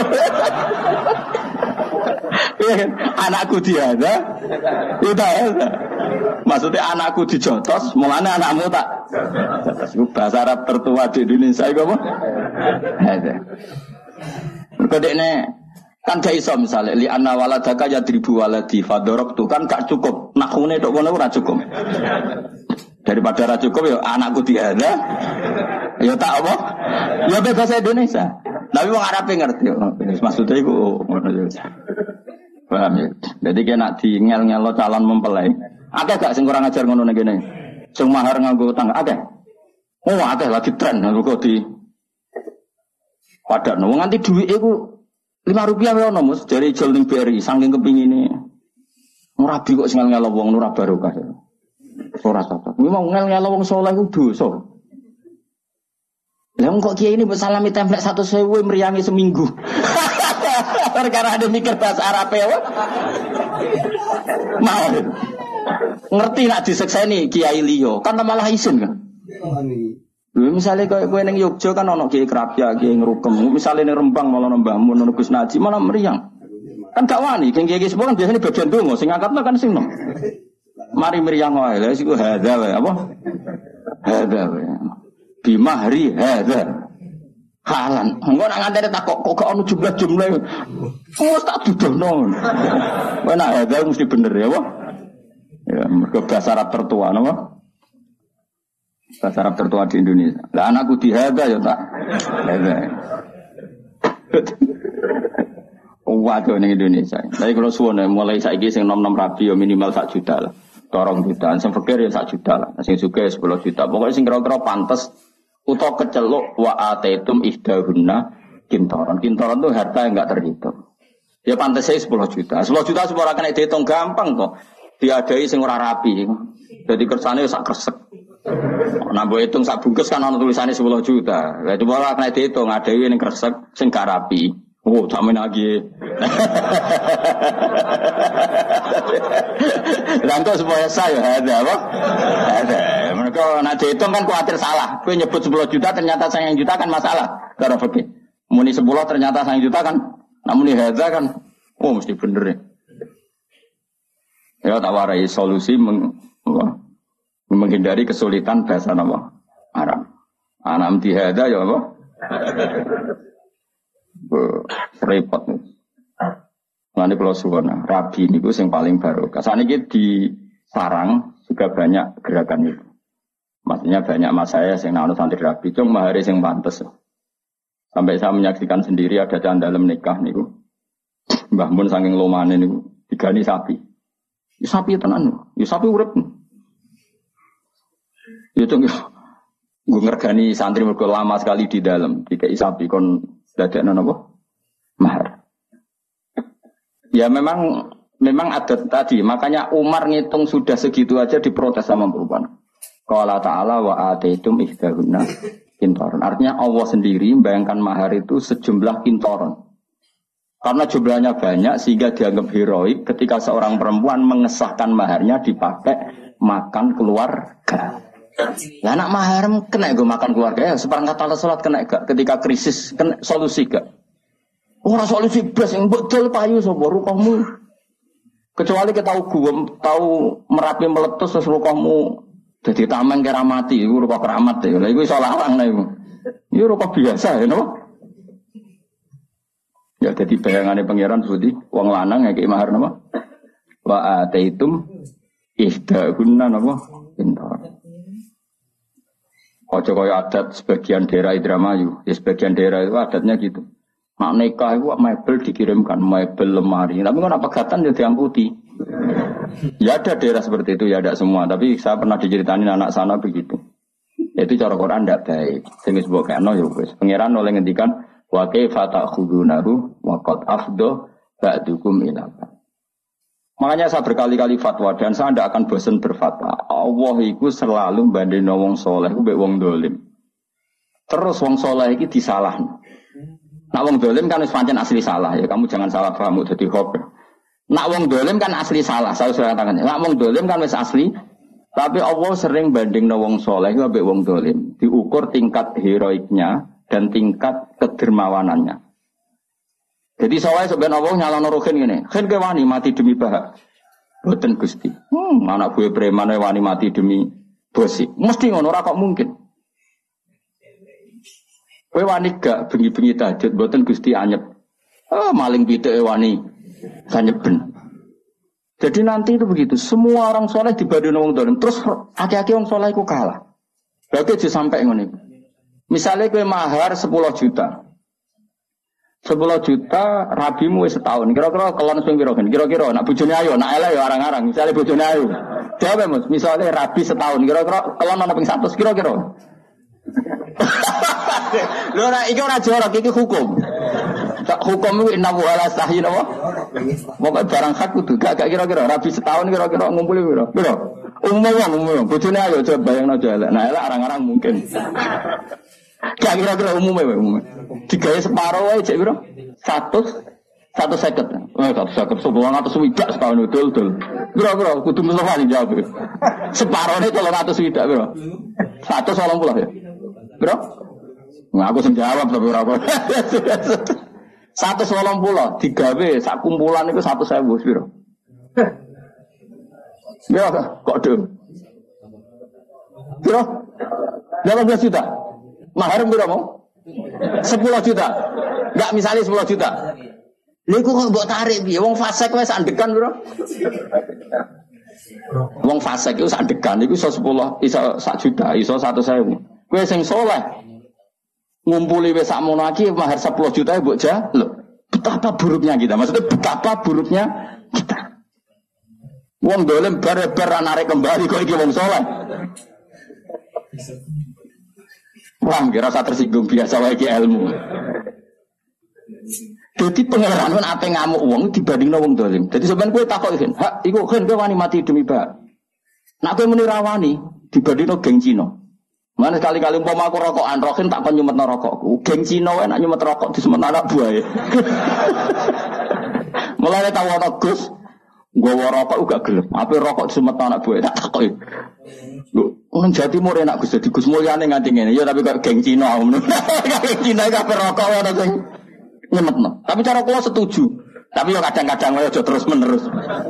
Anakku dihada. Itu ya. Maksudnya anakku dijotos, mulane anakmu tak. Iku bahasa Arab tertua di Indonesia iku apa? Ada. Mergo dekne kan gak iso misalnya li anna waladaka yadribu waladi fadorobtu kan gak cukup nakune tok ngono ora cukup daripada ora cukup ya anakku diada ya tak apa ya bahasa Indonesia tapi wong Arab ngerti maksudnya iku ngono ya paham ya jadi kena di ngel-ngelo calon mempelai akeh gak sing kurang ajar ngono ngene sing mahar nganggo utang akeh oh akeh lagi tren kok di padha wong nganti dhuwit iku Rp5 wae ono Mus dari jual ning BRI saking kepingine. Rabi kok sing ngel-ngelo wong ora barokah. Ora cocok. Kuwi mau ngel-ngelo wong saleh ku dosa. Lah kok kiai ini mbok salami templek 100.000 meriangi seminggu. Perkara ada mikir bahasa Arab ya. Mau. Ngerti nak disekseni kiai liya, kan malah isin kan. Misalnya kowe ning Yogya kan ono kiai Krapya, kiai Ngrukem. Misalnya ning Rembang malah nambah mun Gus Naji malah meriang. Kan gak wani, kiai sepuh kan biasanya bagian donga sing angkatna kan sing nom. Mari meriang wae, lha iku hadza wae apa? Hadza wae. bimahri hadza. Halan. Engko nak ngantene tak kok ono jumlah-jumlah. Wes tak dudono. Wah nak hadza mesti bener ya, Pak. Ya, mergo bahasa Arab tertua napa? Bahasa Arab tertua di Indonesia. Lah anakku di hadza ya tak. Hadza. Waduh ning Indonesia. Tapi kalau suwone mulai saiki sing nom-nom rabi ya minimal 1 juta lah. 2 juta, sing fakir ya 1 juta lah. Sing sugih 10 juta. Pokoknya sing kira-kira pantes utawa keceluk wa ataitum ihdahunna kintaran. Kintaran itu harta yang enggak terhitung. Ya pantes saya 10 juta. 10 juta semua ora kena dihitung gampang kok. Diadai sing ora rapi. Jadi kersane sak kresek. Nah mbok hitung sak bungkus kan ana tulisane 10 juta. Lah coba ora kena dihitung adhewe ning kresek sing gak rapi. Oh, jamin lagi. Langkah supaya saya ada apa? Ada. Mereka nak dihitung kan khawatir salah. Kau nyebut 10 juta ternyata sayang juta kan masalah. Cara fikih. Muni 10 ternyata sayang juta kan. Namun ini hadza kan. Oh mesti bener ya. Ya tak warai solusi menghindari kesulitan bahasa nama Arab. Anam di hadza ya apa? Repot nih. Nanti kalau suwana rabi ini yang paling baru. Saat ini di sarang juga banyak gerakan itu. Maksudnya banyak mas saya yang nanu santri rabi. Cuma mahari yang pantas. Sampai saya menyaksikan sendiri ada dalam nikah nih. Mbah Mun saking lomane nih digani sapi. Ya, sapi tenan. Ya sapi urip. Ya itu gue ngergani santri mergo lama sekali di dalam. Dikai sapi kon dadekno napa? Mahar. Ya memang ada tadi, makanya Umar ngitung sudah segitu aja diprotes sama perempuan. Qala ta'ala wa ataitum ihdahunna kintaron. Artinya Allah sendiri membayangkan mahar itu sejumlah kintaron. Karena jumlahnya banyak sehingga dianggap heroik ketika seorang perempuan mengesahkan maharnya dipakai makan keluarga. Ya anak mahar kena gue makan keluarga ya seperangkat alat sholat kena gak ketika krisis kena solusi gak? Orang solusi blas yang betul payu sapa rukahmu. Kecuali kita tahu Merapi meletus terus rukahmu jadi tameng kira mati iku rukah keramat ya. Lah iku iso larang lah iku. Iku rukah biasa ya napa? Ya jadi bayangane pangeran Budi wong lanang ngeki mahar napa? Wa ataitum ihdahunna napa? Pintar. Ojo kaya adat sebagian daerah Indramayu, ya sebagian daerah itu adatnya gitu. Nak nikah itu mebel dikirimkan, mebel lemari. Tapi kan apa pegatan ya diangkuti. Ya ada daerah seperti itu, ya ada semua. Tapi saya pernah diceritain anak sana begitu. Itu cara Quran tidak baik. Sing disebut kena ya wis. Pangeran oleh ngendikan wa kaifa ta'khudunahu wa qad afdha ba'dukum ila. Makanya saya berkali-kali fatwa dan saya tidak akan bosan berfatwa. Allah itu selalu banding wong soleh, mbek wong dolim. Terus wong soleh itu disalahno. Nak wong dolim kan wis pancen asli salah ya, kamu jangan salah paham dadi hoax. Nak wong dolim kan asli salah, saya sudah katakan. Nak wong dolim kan wis asli, tapi Allah sering bandingno wong soleh mbek wong dolim, diukur tingkat heroiknya dan tingkat kedermawanannya. Jadi soalnya sebenarnya Allah nyalano rohin gini, kan ke wani mati demi bahak, boten gusti. Anak gue preman wani mati demi bosi, mesti ngono ora kok mungkin. Gue wani gak bengi-bengi tahajud, boten gusti anyep. Maling pitik wani sanyeben. Jadi nanti itu begitu, semua orang soleh dibanding wong dolim, terus aki-aki wong soleh itu kalah. Berarti aja sampai ngono. Misalnya gue mahar 10 juta. 10 juta rabimu setahun. Kira-kira kelon sing piro kan? Kira-kira nak bojone ayo, nak elek ya arang-arang. Misale bojone ayo. Dewe Mas, misale rabi setahun. Kira-kira kelon ana ping 100 kira-kira. Lho ora iki ora jorok, iki hukum. Hukum iku inna wa la sahih apa? Pokoke barang hak kudu gak kira-kira rabi setahun kira-kira ngumpuli piro? Piro? Umum. Bojone ayo coba bayangno aja elek. Nah elek arang-arang mungkin. Gak kira-kira umumnya. Digawe separuh wae cek piro? 150. 150 sebulan atau swidak setahun dul. Kira-kira kudu Mustafa sing jawab. Separuhne 300 swidak piro? 180 ya. Piro? Nah, aku sing jawab tapi ora kok. 180 digawe sak kumpulan iku 100.000 piro? Ya kok dul. Piro? 18 juta. Mahar berapa mau? 10 juta. Enggak misalnya 10 juta. Lha iku kok mbok tarik piye? Wong fasik wis andekan piro? Wong fasik iku sandekan iku iso 10, iso 1 juta, iso 100.000. Kowe sing saleh ngumpuli wis sakmono iki mahar 10 juta mbok jaluk. Betapa buruknya kita. Maksudnya betapa buruknya kita. Wong dolim bar-bar narik kembali kok iki wong saleh. Wah, kira rasa tersinggung biasa wae iki ilmu. Jadi pengeran kan apa ngamuk uang dibandingno wong dolim. Jadi sampean kowe takok iki, "Hak, iku kan kowe wani mati demi bak." Nak kowe muni rawani dibandingno geng Cina. Mana sekali-kali umpama aku rokokan, rokin tak kon nyumetno rokokku. Geng Cina wae nak nyumet rokok disemet anak buahe. Mulane tau ana Gus, nggawa rokok uga gelem. Ape rokok disemet anak buahe tak takoki. Lho, nang Jawa Timur enak Gus, dadi Gus mulyane nganti ngene. Ya tapi kok geng Cina ngono. Geng Cina kabeh rokok ana sing nyemetno. Tapi cara kula setuju. Tapi yo kadang-kadang aja terus-menerus.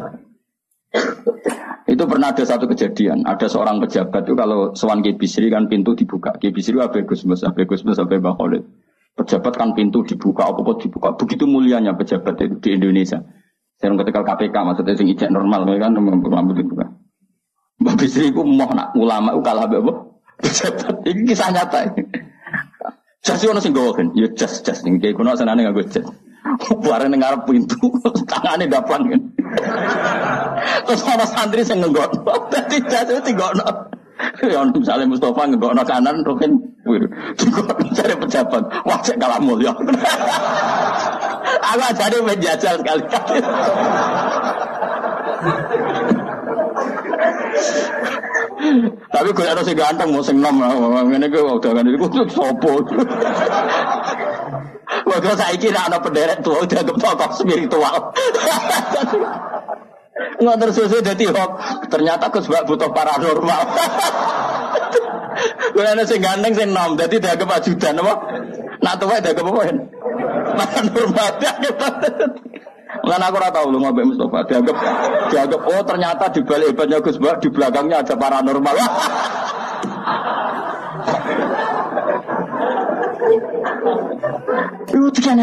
Itu pernah ada satu kejadian. Ada seorang pejabat itu kalau sowan Ki Bisri kan pintu dibuka. Ki Bisri abe Gusmus sampai Mbah Khalid. Pejabat kan pintu dibuka, apa dibuka. Begitu mulianya pejabat itu di Indonesia. Saya ketika KPK maksudnya sing ijek normal kan rambut dibuka. Mbah Bisri itu mau nak ulama itu kalah apa? Pejabat. Ini kisah nyata. Jas ono sing gowo kan. Ya jas ning iki kono senane nganggo jas. Bareng ning ngarep pintu, tangane daplan kan. Terus ana santri sing nggokno. Dadi jas itu tinggono. Ya misalnya Mustafa nggokno kanan roken tinggono cari pejabat. Wah cek kalah mulya. Aku ajane menjajal sekali-kali. Tapi gue ada sing ganteng mau sing nom ngene iki udah kan iku sopo. Waduh saiki nek ana penderet tua udah tokoh spiritual. Nggak tersusun dadi hok. Ternyata Gus Bak butuh paranormal. Gue ada sing ganteng sing nom dadi dianggap ajudan apa? Nak tuwa dianggap apa? Paranormal. Lan aku ora tau lu ngombe Mustofa dianggap oh ternyata di balik hebatnya Gus Bak di belakangnya ada paranormal. Itu kan.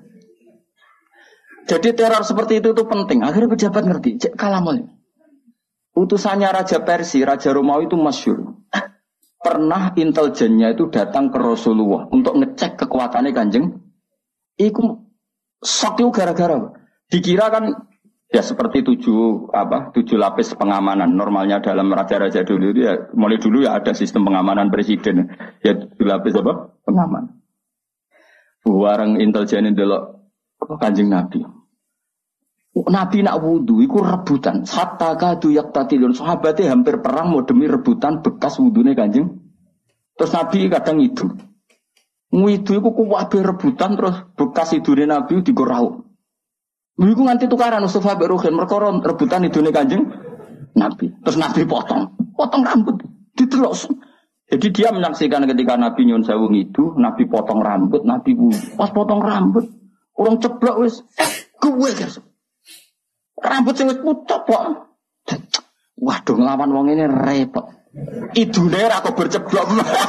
Jadi teror seperti itu tuh penting. Akhirnya pejabat ngerti. Cek kalamul. Utusannya Raja Persia, Raja Romawi itu masyhur. Pernah intelijennya itu datang ke Rasulullah untuk ngecek kekuatannya Kanjeng. Iku sok itu gara-gara. Dikira kan ya seperti 7 lapis pengamanan. Normalnya dalam raja-raja dulu itu ya mulai dulu ya ada sistem pengamanan presiden. Ya 7 lapis apa? Pengamanan. Bareng intelijen delok Kanjeng Nabi. Nabi nak wudu iku rebutan. Hatta kadu yaqtatilun. Sahabatnya hampir perang mau demi rebutan bekas wudune Kanjeng. Terus Nabi kadang itu. Ngidu iku kuwabe rebutan terus bekas idune Nabi digorau. Iku nganti tukaran Mustafa mbek Ruhin perkara rebutan idune Kanjeng Nabi. Terus Nabi potong rambut. Ditelok. Jadi dia menyaksikan ketika Nabi nyun sewu ngidu, Nabi potong rambut, Nabi pas potong rambut, orang ceblok wis gue guys. Rambut sing wis pucuk kok. Waduh nglawan wong ini repot. Idune ra kok berceblok.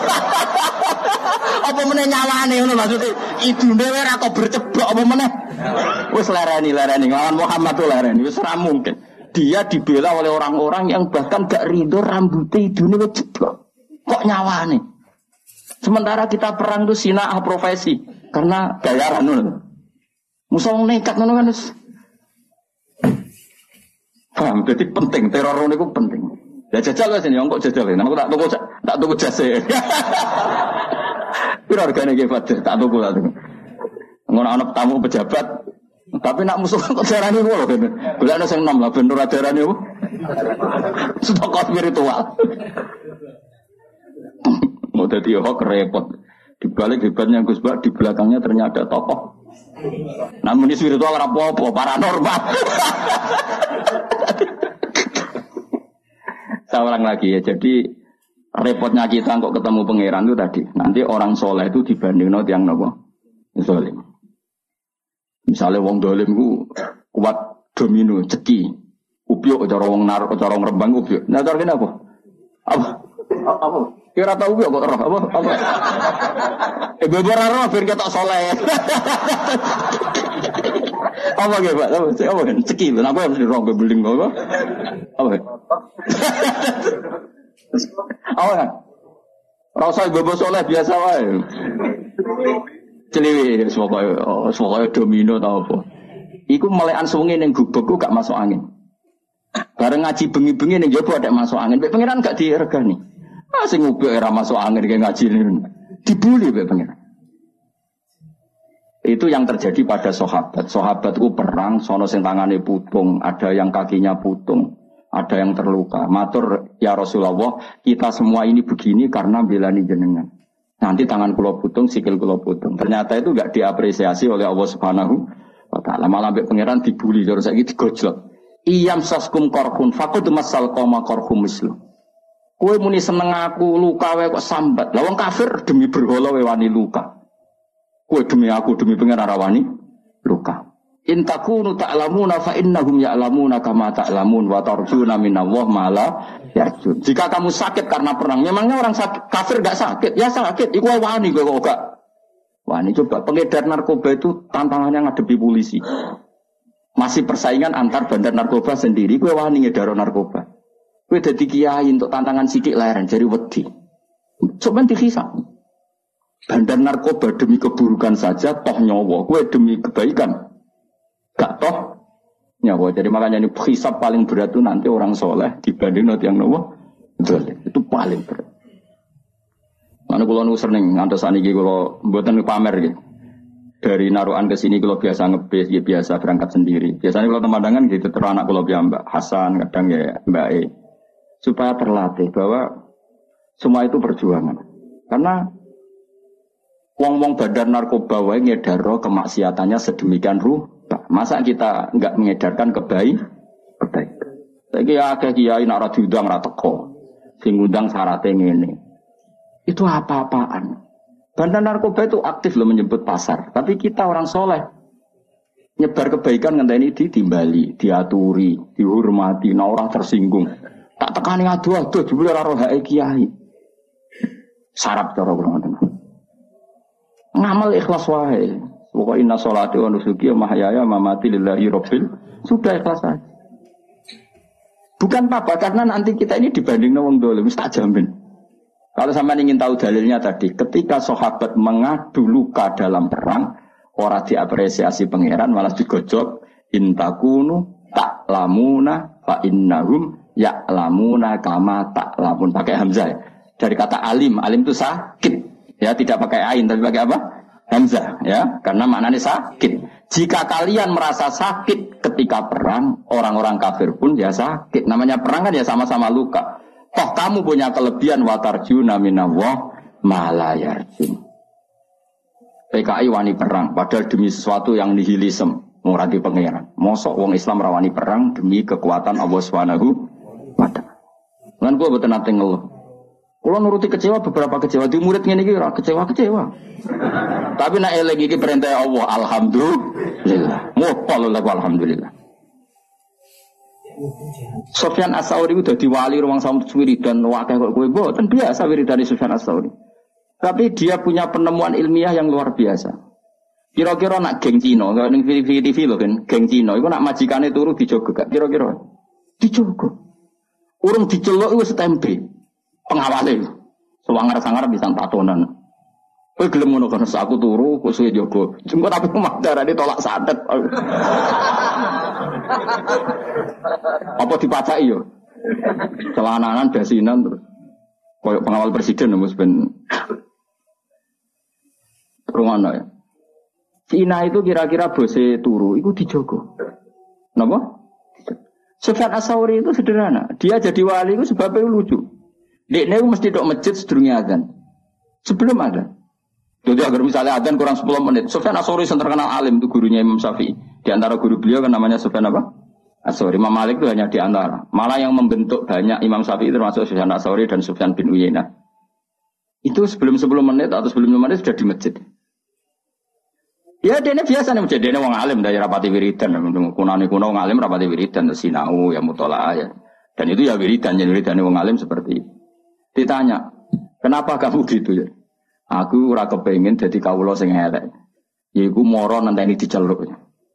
Apa meneh nyawane ngono maksudnya? Idune ora kok berceblok apa meneh? Wis lereni nglawan Muhammad tuh lereni wis ora mungkin. Dia dibela oleh orang-orang yang bahkan gak ridho rambutnya idune wis ceblok. Kok nyawane? Sementara kita perang tuh sinah profesi karena bayaran ngono. Musuh nekat ngono kan wis. Paham, jadi penting teror niku penting. Ya jajal wis ini kok jajal. Nang aku tak tuku jase. Piro hargane iki Fatir? Tak tuku. Ngono ana tamu pejabat. Tapi nak musuh kok darane ngono kene. Golekno sing nom lah ben ora darane opo. Stok spiritual. Mau jadi hok repot. Di balik hebatnya Gus Bak, di belakangnya ternyata ada tokoh. Namun di spiritual apa-apa, paranormal. Saya ulang lagi ya. Jadi repotnya kita kok ketemu pangeran itu tadi. Nanti orang soleh itu dibandingno tiyang napa? Zalim. Misalnya wong dolim ku kuat domino, ceki. Upyuk cara wong nar, cara wong Rembang upyuk. Nah cara kene apa? Apa? Kira tahu kok roh apa? Beberapa roh ben ketok soleh. Apa ge, Pak? Apa kan? Ceki, aku harus di roh beling apa? Apa? Apa kan? Rasa bebo soleh biasa wae. Celiwi semoga domino tau apa. Iku melekan sungi ning gubegku gak masuk angin. Bareng ngaji bengi-bengi ning jopo ada masuk angin. Mek pangeran gak diregani. Ah sing ngubek ora masuk angin kayak ngaji ini. Dibuli mek pangeran. Itu yang terjadi pada sahabat. Sahabat itu perang, sono sing tangane putung, ada yang kakinya putung, ada yang terluka. Matur ya Rasulullah, kita semua ini begini karena belani jenengan. Nanti tangan kula putung, sikil kula putung. Ternyata itu enggak diapresiasi oleh Allah Subhanahu wa taala. Malah mbek pangeran dibuli terus saiki digojlok. Iyam saskum korhun faqad masal qoma korhum mislu. Kowe muni seneng aku luka wae kok sambat. Lah wong kafir demi berhala wae wani luka. Kowe demi aku demi pangeran rawani luka. In takunu ta'lamuna fa innahum ya'lamuna kama ta'lamun wa tarjuna minallah ma la yarjun. Jika kamu sakit karena perang, memangnya orang sakit, kafir enggak sakit? Ya sakit. Iku wani kowe kok enggak. Wani coba pengedar narkoba itu tantangannya ngadepi polisi. Masih persaingan antar bandar narkoba sendiri, kowe wani ngedaro narkoba. Kowe dadi kiai untuk tantangan sithik leren jari wedi. Coba dihisab. Bandar narkoba demi keburukan saja toh nyawa, kowe demi kebaikan gak toh nyawa. Jadi makanya ini hisab paling berat itu nanti orang soleh dibanding nanti yang nawa itu paling berat. Mana kalau nu sering ngantos saniki kalau mboten pamer gitu. Dari Narukan ke sini kalau biasa ngebis, ya biasa berangkat sendiri. Biasanya kalau temandangan gitu terus anak kalau Mbak Hasan, kadang ya Mbak E. Supaya terlatih bahwa semua itu perjuangan. Karena wong-wong bandar narkoba wae ngedaro kemaksiatannya sedemikian rupa. Masa kita enggak mengedarkan kebaikan? Saiki akeh kiai nek ora diundang ora teko. Sing ngundang syaratnya ngene. Itu apa-apaan. Bandar narkoba itu aktif loh menyebut pasar. Tapi kita orang soleh nyebar kebaikan ngenteni ditimbali, diaturi, dihormati, nah orang tersinggung. Tak tekani adu-adu jebule ora roh hake kiai. Sarap cara kula ngoten. Ngamal ikhlas wae. Pokoke inna sholati wa nusuki wa mahyaya wa mamati lillahi rabbil. Sudah ikhlas saja. Bukan apa karena nanti kita ini dibanding wong dolim tak jamin. Kalau sampai ingin tahu dalilnya tadi, ketika sahabat mengadu luka dalam perang, orang diapresiasi pangeran malah digojok. Intakunu ta'lamuna fa innahum ya'lamuna kama ta'lamun. Pakai hamzah ya. Dari kata alim, alim itu sakit. Ya, tidak pakai ain tapi pakai apa? Hamzah ya, karena maknanya sakit. Jika kalian merasa sakit ketika perang, orang-orang kafir pun ya sakit. Namanya perang kan ya sama-sama luka. Toh kamu punya kelebihan watarjuna minallah ma la yarjun. PKI wani perang padahal demi sesuatu yang nihilisme, ora di pangeran. Mosok wong Islam rawani perang demi kekuatan Allah Subhanahu wa taala. Lan kula boten nate ngeluh. Kula nuruti kecewa beberapa kecewa di murid ngene iki ora kecewa-kecewa. Tapi nek eling iki perintah Allah, alhamdulillah. Muqallal alhamdulillah. Sufyan As-Tsauri udah diwali ruang samut wiridan wakil kok kowe mboten biasa wiridan Sufyan As-Tsauri. Tapi dia punya penemuan ilmiah yang luar biasa. Kira-kira nak geng Cina, kalau ning TV lho kan, geng Cina iku nak majikane turu dijogo gak kira-kira. Dijogo. Urung diceluk wis tempe. Pengawale. Sewangar-sangar bisa tatonan. Kowe gelem ngono kan aku turu kok suwe jogo. Jengko tapi darane tolak santet. Apa dipacaki yo? Celananan basinan terus. Koyok pengawal presiden Mas ben. Rumono ya. Cina itu kira-kira bose turu iku dijogo. Napa? Sufyan As-Tsauri itu sederhana. Dia jadi wali itu sebabnya lucu. Dekne mesti tok masjid sedurunge azan. Sebelum azan. Jadi agar misalnya adzan kurang 10 menit. Sufyan As-Tsauri yang terkenal alim itu gurunya Imam Syafi'i. Di antara guru beliau kan namanya Sufyan apa? As-Tsauri. Imam Malik itu hanya di antara. Malah yang membentuk banyak Imam Syafi'i termasuk Sufyan As-Tsauri dan Sufyan bin Uyainah. Itu sebelum 10 menit atau sebelum 5 menit sudah di masjid. Ya dene biasa nih masjid. Dene wong alim dari rapati wiridan. Kunane kuno wong alim rapati wiridan. Sinau ya mutolaah ya. Dan itu ya wiridan. Jadi wiridan wong alim seperti itu. Ditanya. Kenapa kamu gitu ya? Aku ora kepengin dadi kawula sing elek. Yaiku moro nenteni diceluk.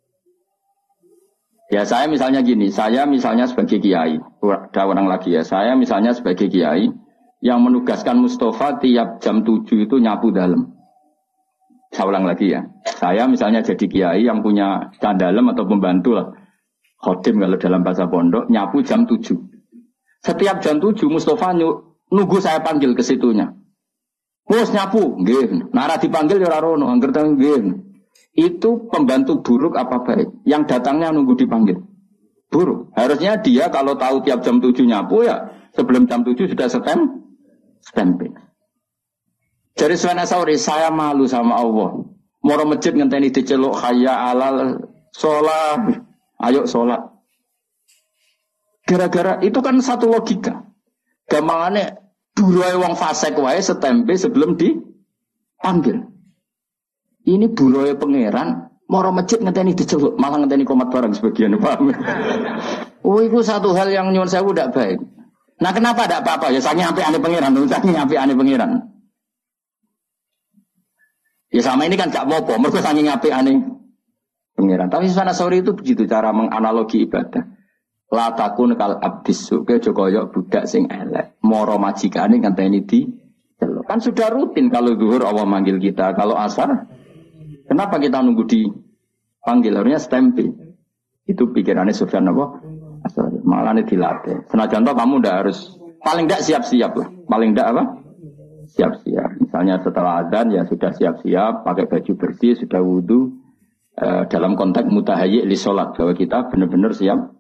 Ya saya misalnya gini, saya misalnya sebagai kiai, ada orang lagi ya, saya misalnya sebagai kiai yang menugaskan Mustafa tiap jam 7 itu nyapu dalam. Saya ulang lagi ya, saya misalnya jadi kiai yang punya candalem atau pembantu lah, khodim kalau dalam bahasa pondok, nyapu jam 7. Setiap jam 7 Mustafa nunggu saya panggil ke situnya. Bos nyapu, nggih. Nara dipanggil ya ora rono, angger nggih. Itu pembantu buruk apa baik? Yang datangnya nunggu dipanggil. Buruk. Harusnya dia kalau tahu tiap jam 7 nyapu ya sebelum jam 7 sudah stempel. Jadi Sufyan Ats-Tsauri, saya malu sama Allah. Moro masjid ngenteni diceluk hayya alal sholat. Ayo sholat. Gara-gara itu kan satu logika. Gampangane buruhe wong fasik wae setempe sebelum dipanggil. Ini buruhe pangeran moro masjid ngenteni diceluk, malah ngenteni komat barang sebagian, paham. Oh, itu satu hal yang nyuwun sewu ndak baik. Nah, kenapa ndak apa-apa? Ya saking apik-ane pangeran, saking apik-ane pangeran. Ya sama ini kan gak apa-apa, mergo saking apik-ane pangeran. Tapi Sufyan Ats-Tsauri itu begitu cara menganalogi ibadah. La takun kal abdis suke jokoyok budak sing elek. Moro majikane ngenteni diceluk. Kan sudah rutin kalau zuhur Allah manggil kita, kalau asar kenapa kita nunggu dipanggil? Harusnya stempel. Itu pikirannya Sufyan apa? Malah ini dilatih. Senajan toh kamu udah harus paling tidak siap-siap lah. Paling tidak apa? Siap-siap. Misalnya setelah adzan ya sudah siap-siap, pakai baju bersih, sudah wudu. Dalam konteks mutahayyi li sholat bahwa kita benar-benar siap.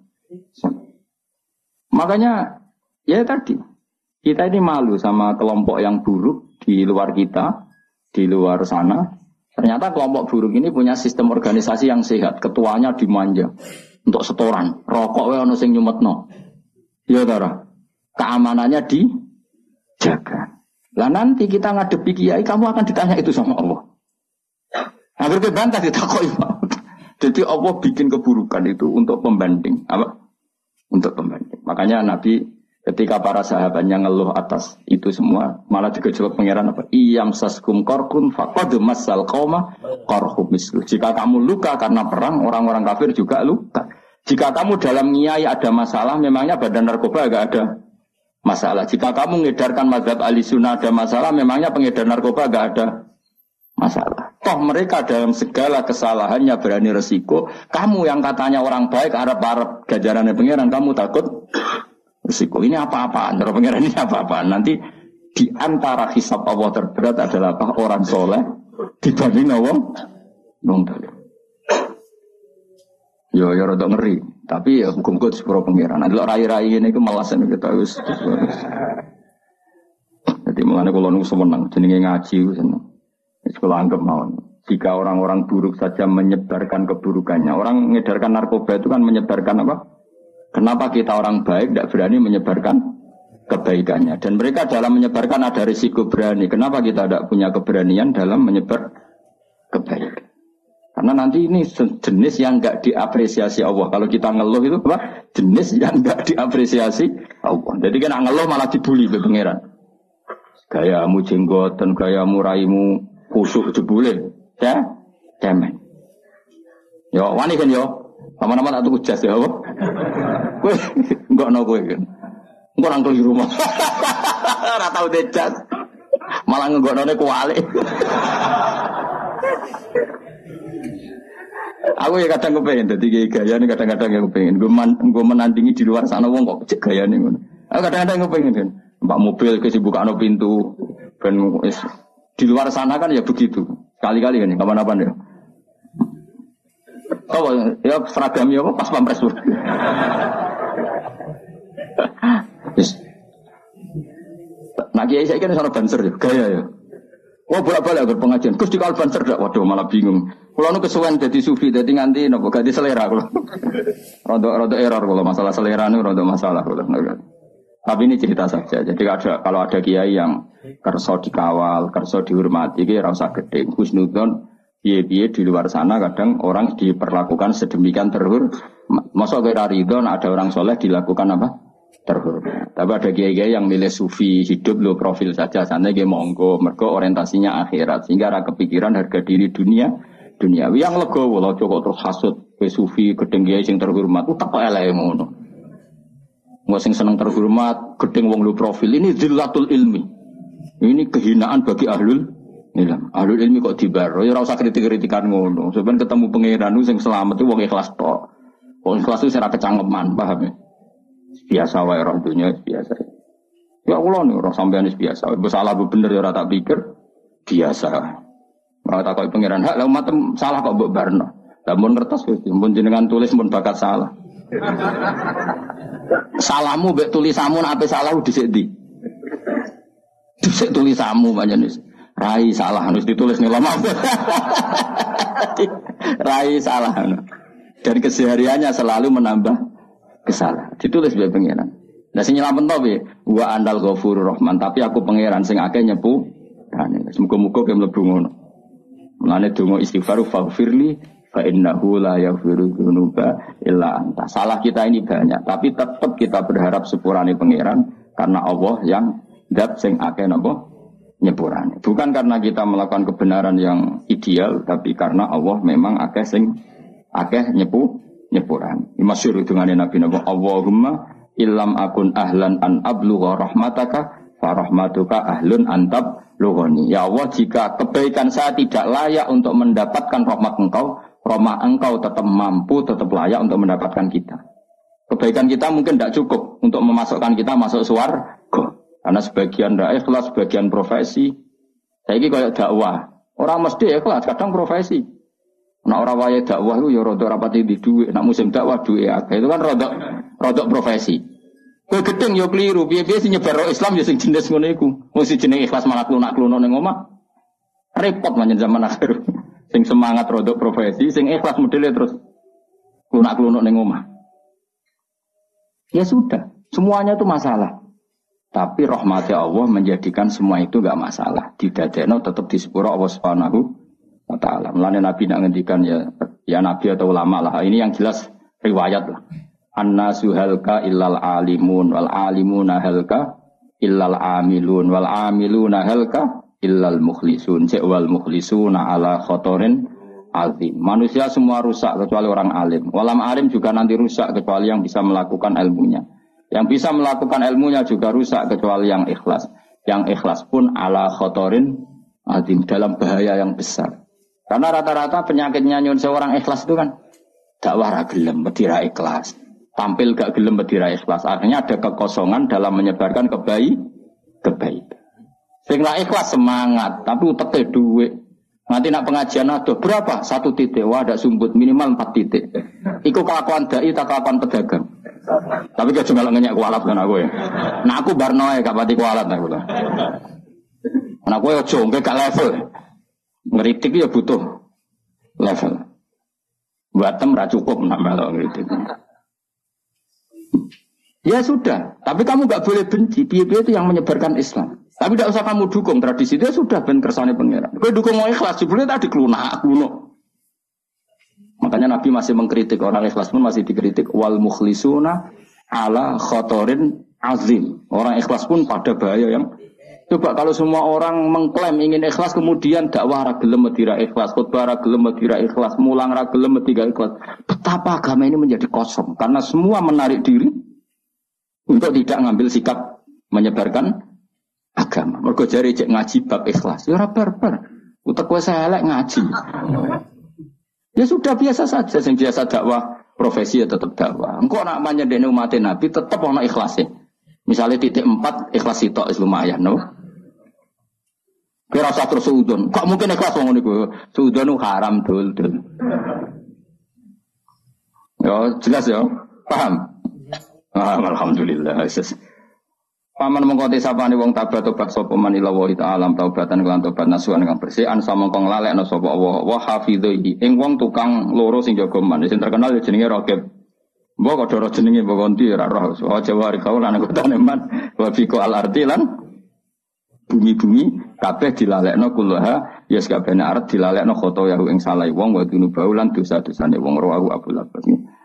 Makanya ya tadi kita ini malu sama kelompok yang buruk di luar kita, di luar sana. Ternyata kelompok buruk ini punya sistem organisasi yang sehat. Ketuanya dimanja untuk setoran. Rokok wae ono sing nyumetno. Ya Tara. Keamanannya dijaga. Lah nanti kita ngadepi kiai, kamu akan ditanya itu sama Allah. Hampir kebantah ditakoki. Jadi Allah bikin keburukan itu untuk pembanding. Apa? Untuk pembanding. Makanya Nabi ketika para sahabatnya ngeluh atas itu semua, malah digejolak pangeran apa? Iyam saskum korkun faqad massal qauma qarhum mislu. Jika kamu luka karena perang, orang-orang kafir juga luka. Jika kamu dalam ngiyai ada masalah, memangnya badan narkoba enggak ada masalah. Jika kamu mengedarkan mazhab Ahlussunnah ada masalah, memangnya pengedar narkoba enggak ada masalah. Toh mereka dalam segala kesalahannya berani resiko. Kamu yang katanya orang baik, Arab-Arab gajarannya pangeran, kamu takut resiko. Ini apa-apaan? Terus pengiran ini apa-apaan? Nanti di antara hisab Allah terberat adalah apa? Orang soleh dibanding wong dolim. Yo rada ngeri. Tapi ya hukum-hukum sepuro pengiran. Nanti rai-rai ini ke malasan kita wis. Jadi mulane kula nu seneng jenenge ngaji seneng. Sekolah anggap mawon. Jika orang-orang buruk saja menyebarkan keburukannya, orang mengedarkan narkoba itu kan menyebarkan apa? Kenapa kita orang baik tidak berani menyebarkan kebaikannya? Dan mereka dalam menyebarkan ada risiko berani. Kenapa kita tidak punya keberanian dalam menyebar kebaikan? Karena nanti ini jenis yang enggak diapresiasi Allah. Kalau kita ngeluh itu apa? Jenis yang enggak diapresiasi Allah. Jadi kan ngeluh malah dibully oleh pangeran. Gayamu jenggotan, gayamu raimu kusuk jebule. Ya? Cemen. Yo, wani kan yo. Lama-lama tak tuku jas ya apa? Kowe enggak ono kowe kan. Engko nang di rumah. Ora tau jas. Malah nggoknone kualik. Aku ya kadang kepengen dadi gaya nih kadang-kadang ya kepengen. Gue menandingi di luar sana wong kok cek gaya nih. Aku kadang-kadang kepengen kan. Mbak mobil kesibukano pintu ben di luar sana kan ya begitu. Kali-kali kan kapan-kapan ya. Oh ya seragamnya apa pas pampres. Yes. Nah kiai saya kan soal banser ya, gaya ya. Wah bolak-balik agar pengajian. Terus di banser dak, waduh malah bingung. Kalau nu kesuwen jadi sufi, jadi nganti nopo ganti selera kalau. Rodo error kalau masalah selera nu rodo masalah kalau. Tapi ini cerita saja. Jadi kalau ada kiai yang kerso dikawal, kerso dihormati, kira rasa gede. Husnudon, biye di luar sana kadang orang diperlakukan sedemikian terhur. Masa kira ridon ada orang soleh dilakukan apa? Terhormat. Tapi ada kiai-kiai yang milih sufi hidup lo profil saja, sana dia monggo, mergo orientasinya akhirat, sehingga ada kepikiran harga diri duniawi yang legowo lo cukup terus hasut ke sufi gedeng kiai sing terhormat, utak kok eleke ngono. Wong sing seneng terhormat, gedeng wong lo profil ini zillatul ilmi. Ini kehinaan bagi ahlul ilm. Ahlul ilmi kok dibaro, ya ora usah kritik-kritikan ngono. Sampeyan ketemu pangeran sing selamat itu wong ikhlas tok. Wong ikhlas itu ora kecangeman, paham ya? Biasa wae orang dunia biasa. Ya Allah nih orang sampean biasa. Salah bener ya ora tak pikir biasa. Ora tak kok pangeran hak lha umat salah kok mbok barno. Lah mun ngertos wis mun jenengan tulis mun bakat salah. Salahmu mbek tulisanmu nek ape salah dhisik ndi? Dhisik tulisanmu pancen wis. Rai salah harus ditulis nih lama. Rai salah. Dan kesehariannya selalu menambah kesalahan. Ditulis bae pangeran. Lah sing nyelametno piye? Wa andal ghafurur rahman, tapi aku pangeran sing akeh nyepu. Muga-muga ke mlebu ngono. Mulane donga istighfar faghfirli fa innahu la yaghfiru dzunuba illa anta. Salah kita ini banyak, tapi tetap kita berharap sepurane pangeran karena Allah yang zat sing akeh napa nyepurane. Bukan karena kita melakukan kebenaran yang ideal, tapi karena Allah memang akeh sing akeh nyepuran. Masyhur dungane Nabi napa Allahumma illam akun ahlan an ablugha rahmataka fa rahmatuka ahlun antab lughani. Ya Allah, jika kebaikan saya tidak layak untuk mendapatkan rahmat engkau tetap mampu, tetap layak untuk mendapatkan kita. Kebaikan kita mungkin tidak cukup untuk memasukkan kita masuk surga. Karena sebagian tidak ikhlas, sebagian profesi. Saya ini kayak dakwah. Orang mesti ikhlas, kadang profesi. Nah orang waya dakwah itu ya rodok rapati di duit. Nak musim dakwah duit ya. Itu kan rodok profesi. Kowe gedeng ya keliru. Piye-piye sing nyebar Islam ya sing jenis ngono iku. Mesti jeneng ikhlas malah klunak-kluno ning omah. Repot manjen zaman akhir. Sing semangat rodok profesi, sing ikhlas modele terus klunak-kluno ning omah. Ya sudah, semuanya itu masalah. Tapi rahmatnya Allah menjadikan semua itu enggak masalah. Didadekno tetap disepuro Allah Subhanahu wa ta'ala. Mulane Nabi nak ngendikan ya Nabi atau ulama lah. Ini yang jelas riwayat lah. An-nasu halka illal alimun wal alimuna halka illal amilun wal amiluna halka illal mukhlisun wal mukhlisuna ala khotorin azim. Manusia semua rusak kecuali orang alim. Walam alim juga nanti rusak kecuali yang bisa melakukan ilmunya. Yang bisa melakukan ilmunya juga rusak kecuali yang ikhlas. Yang ikhlas pun ala khotorin azim, dalam bahaya yang besar. Karena rata-rata penyakitnya nyun seorang ikhlas itu kan dakwah ra gelem, medira ikhlas. Tampil gak gelem medira ikhlas. Akhirnya ada kekosongan dalam menyebarkan kebaikan. Sing ra ikhlas semangat, tapi uteke dhuwit. Nanti nak pengajian aduh berapa? 1 titik. Wah, ada sumbut minimal 4 titik. Iku kelakuan dai tak kelakuan pedagang. Tapi gak cuma ngenyek kualat kan aku ya. Nah aku barnoe gak pati kualat aku lah. Nah aku ya jongke gak level. Ngeritik ya butuh level. Buatem ra cukup nak melok ngeritik. Ya sudah, tapi kamu gak boleh benci. Piye-piye itu yang menyebarkan Islam. Tapi tidak usah kamu dukung tradisi itu sudah ben kersane pangeran. Kowe dukung mau ikhlas, jebule tadi klunak kuno. Makanya Nabi masih mengkritik orang ikhlas pun masih dikritik wal mukhlisuna ala khotorin azim. Orang ikhlas pun pada bahaya yang coba kalau semua orang mengklaim ingin ikhlas kemudian dakwah ra gelem medira ikhlas, khutbah ra gelem medira ikhlas, mulang ra gelem medira ikhlas. Betapa agama ini menjadi kosong karena semua menarik diri untuk tidak ngambil sikap menyebarkan agama. Mergo jare cek ngaji bab ikhlas. Ya ora barbar. Utek kowe elek ngaji. Ya sudah biasa saja, sing biasa dakwah profesi ya tetap dakwah. Engko nak nyedene umat Nabi tetap ana ikhlase. Misalnya titik 4 ikhlas sitok wis lumayan, no. Kira usah terus suudon. Kok mungkin ikhlas wong niku? Suudon haram dul. Yo jelas ya. Paham? Alhamdulillah. Paman mengkoti sapane wong tobat sapa man ila wa ta'ala taubatan kelan tobat nasuhan kang bersih an samangka nglalekno sapa Allah wa hafidhi ing wong tukang loro sing jaga man sing terkenal jenenge Raqib. Mbok kok doro jenenge mbok konti ora roh. Wa jawari kaul lan kotane man wa fiqo al-ardi lan bumi-bumi kabeh dilalekno kullaha ya sakabehane arep dilalekno khoto yahu ing salah wong wa dunubau lan dosa-dosane wong rawu Abu Labas.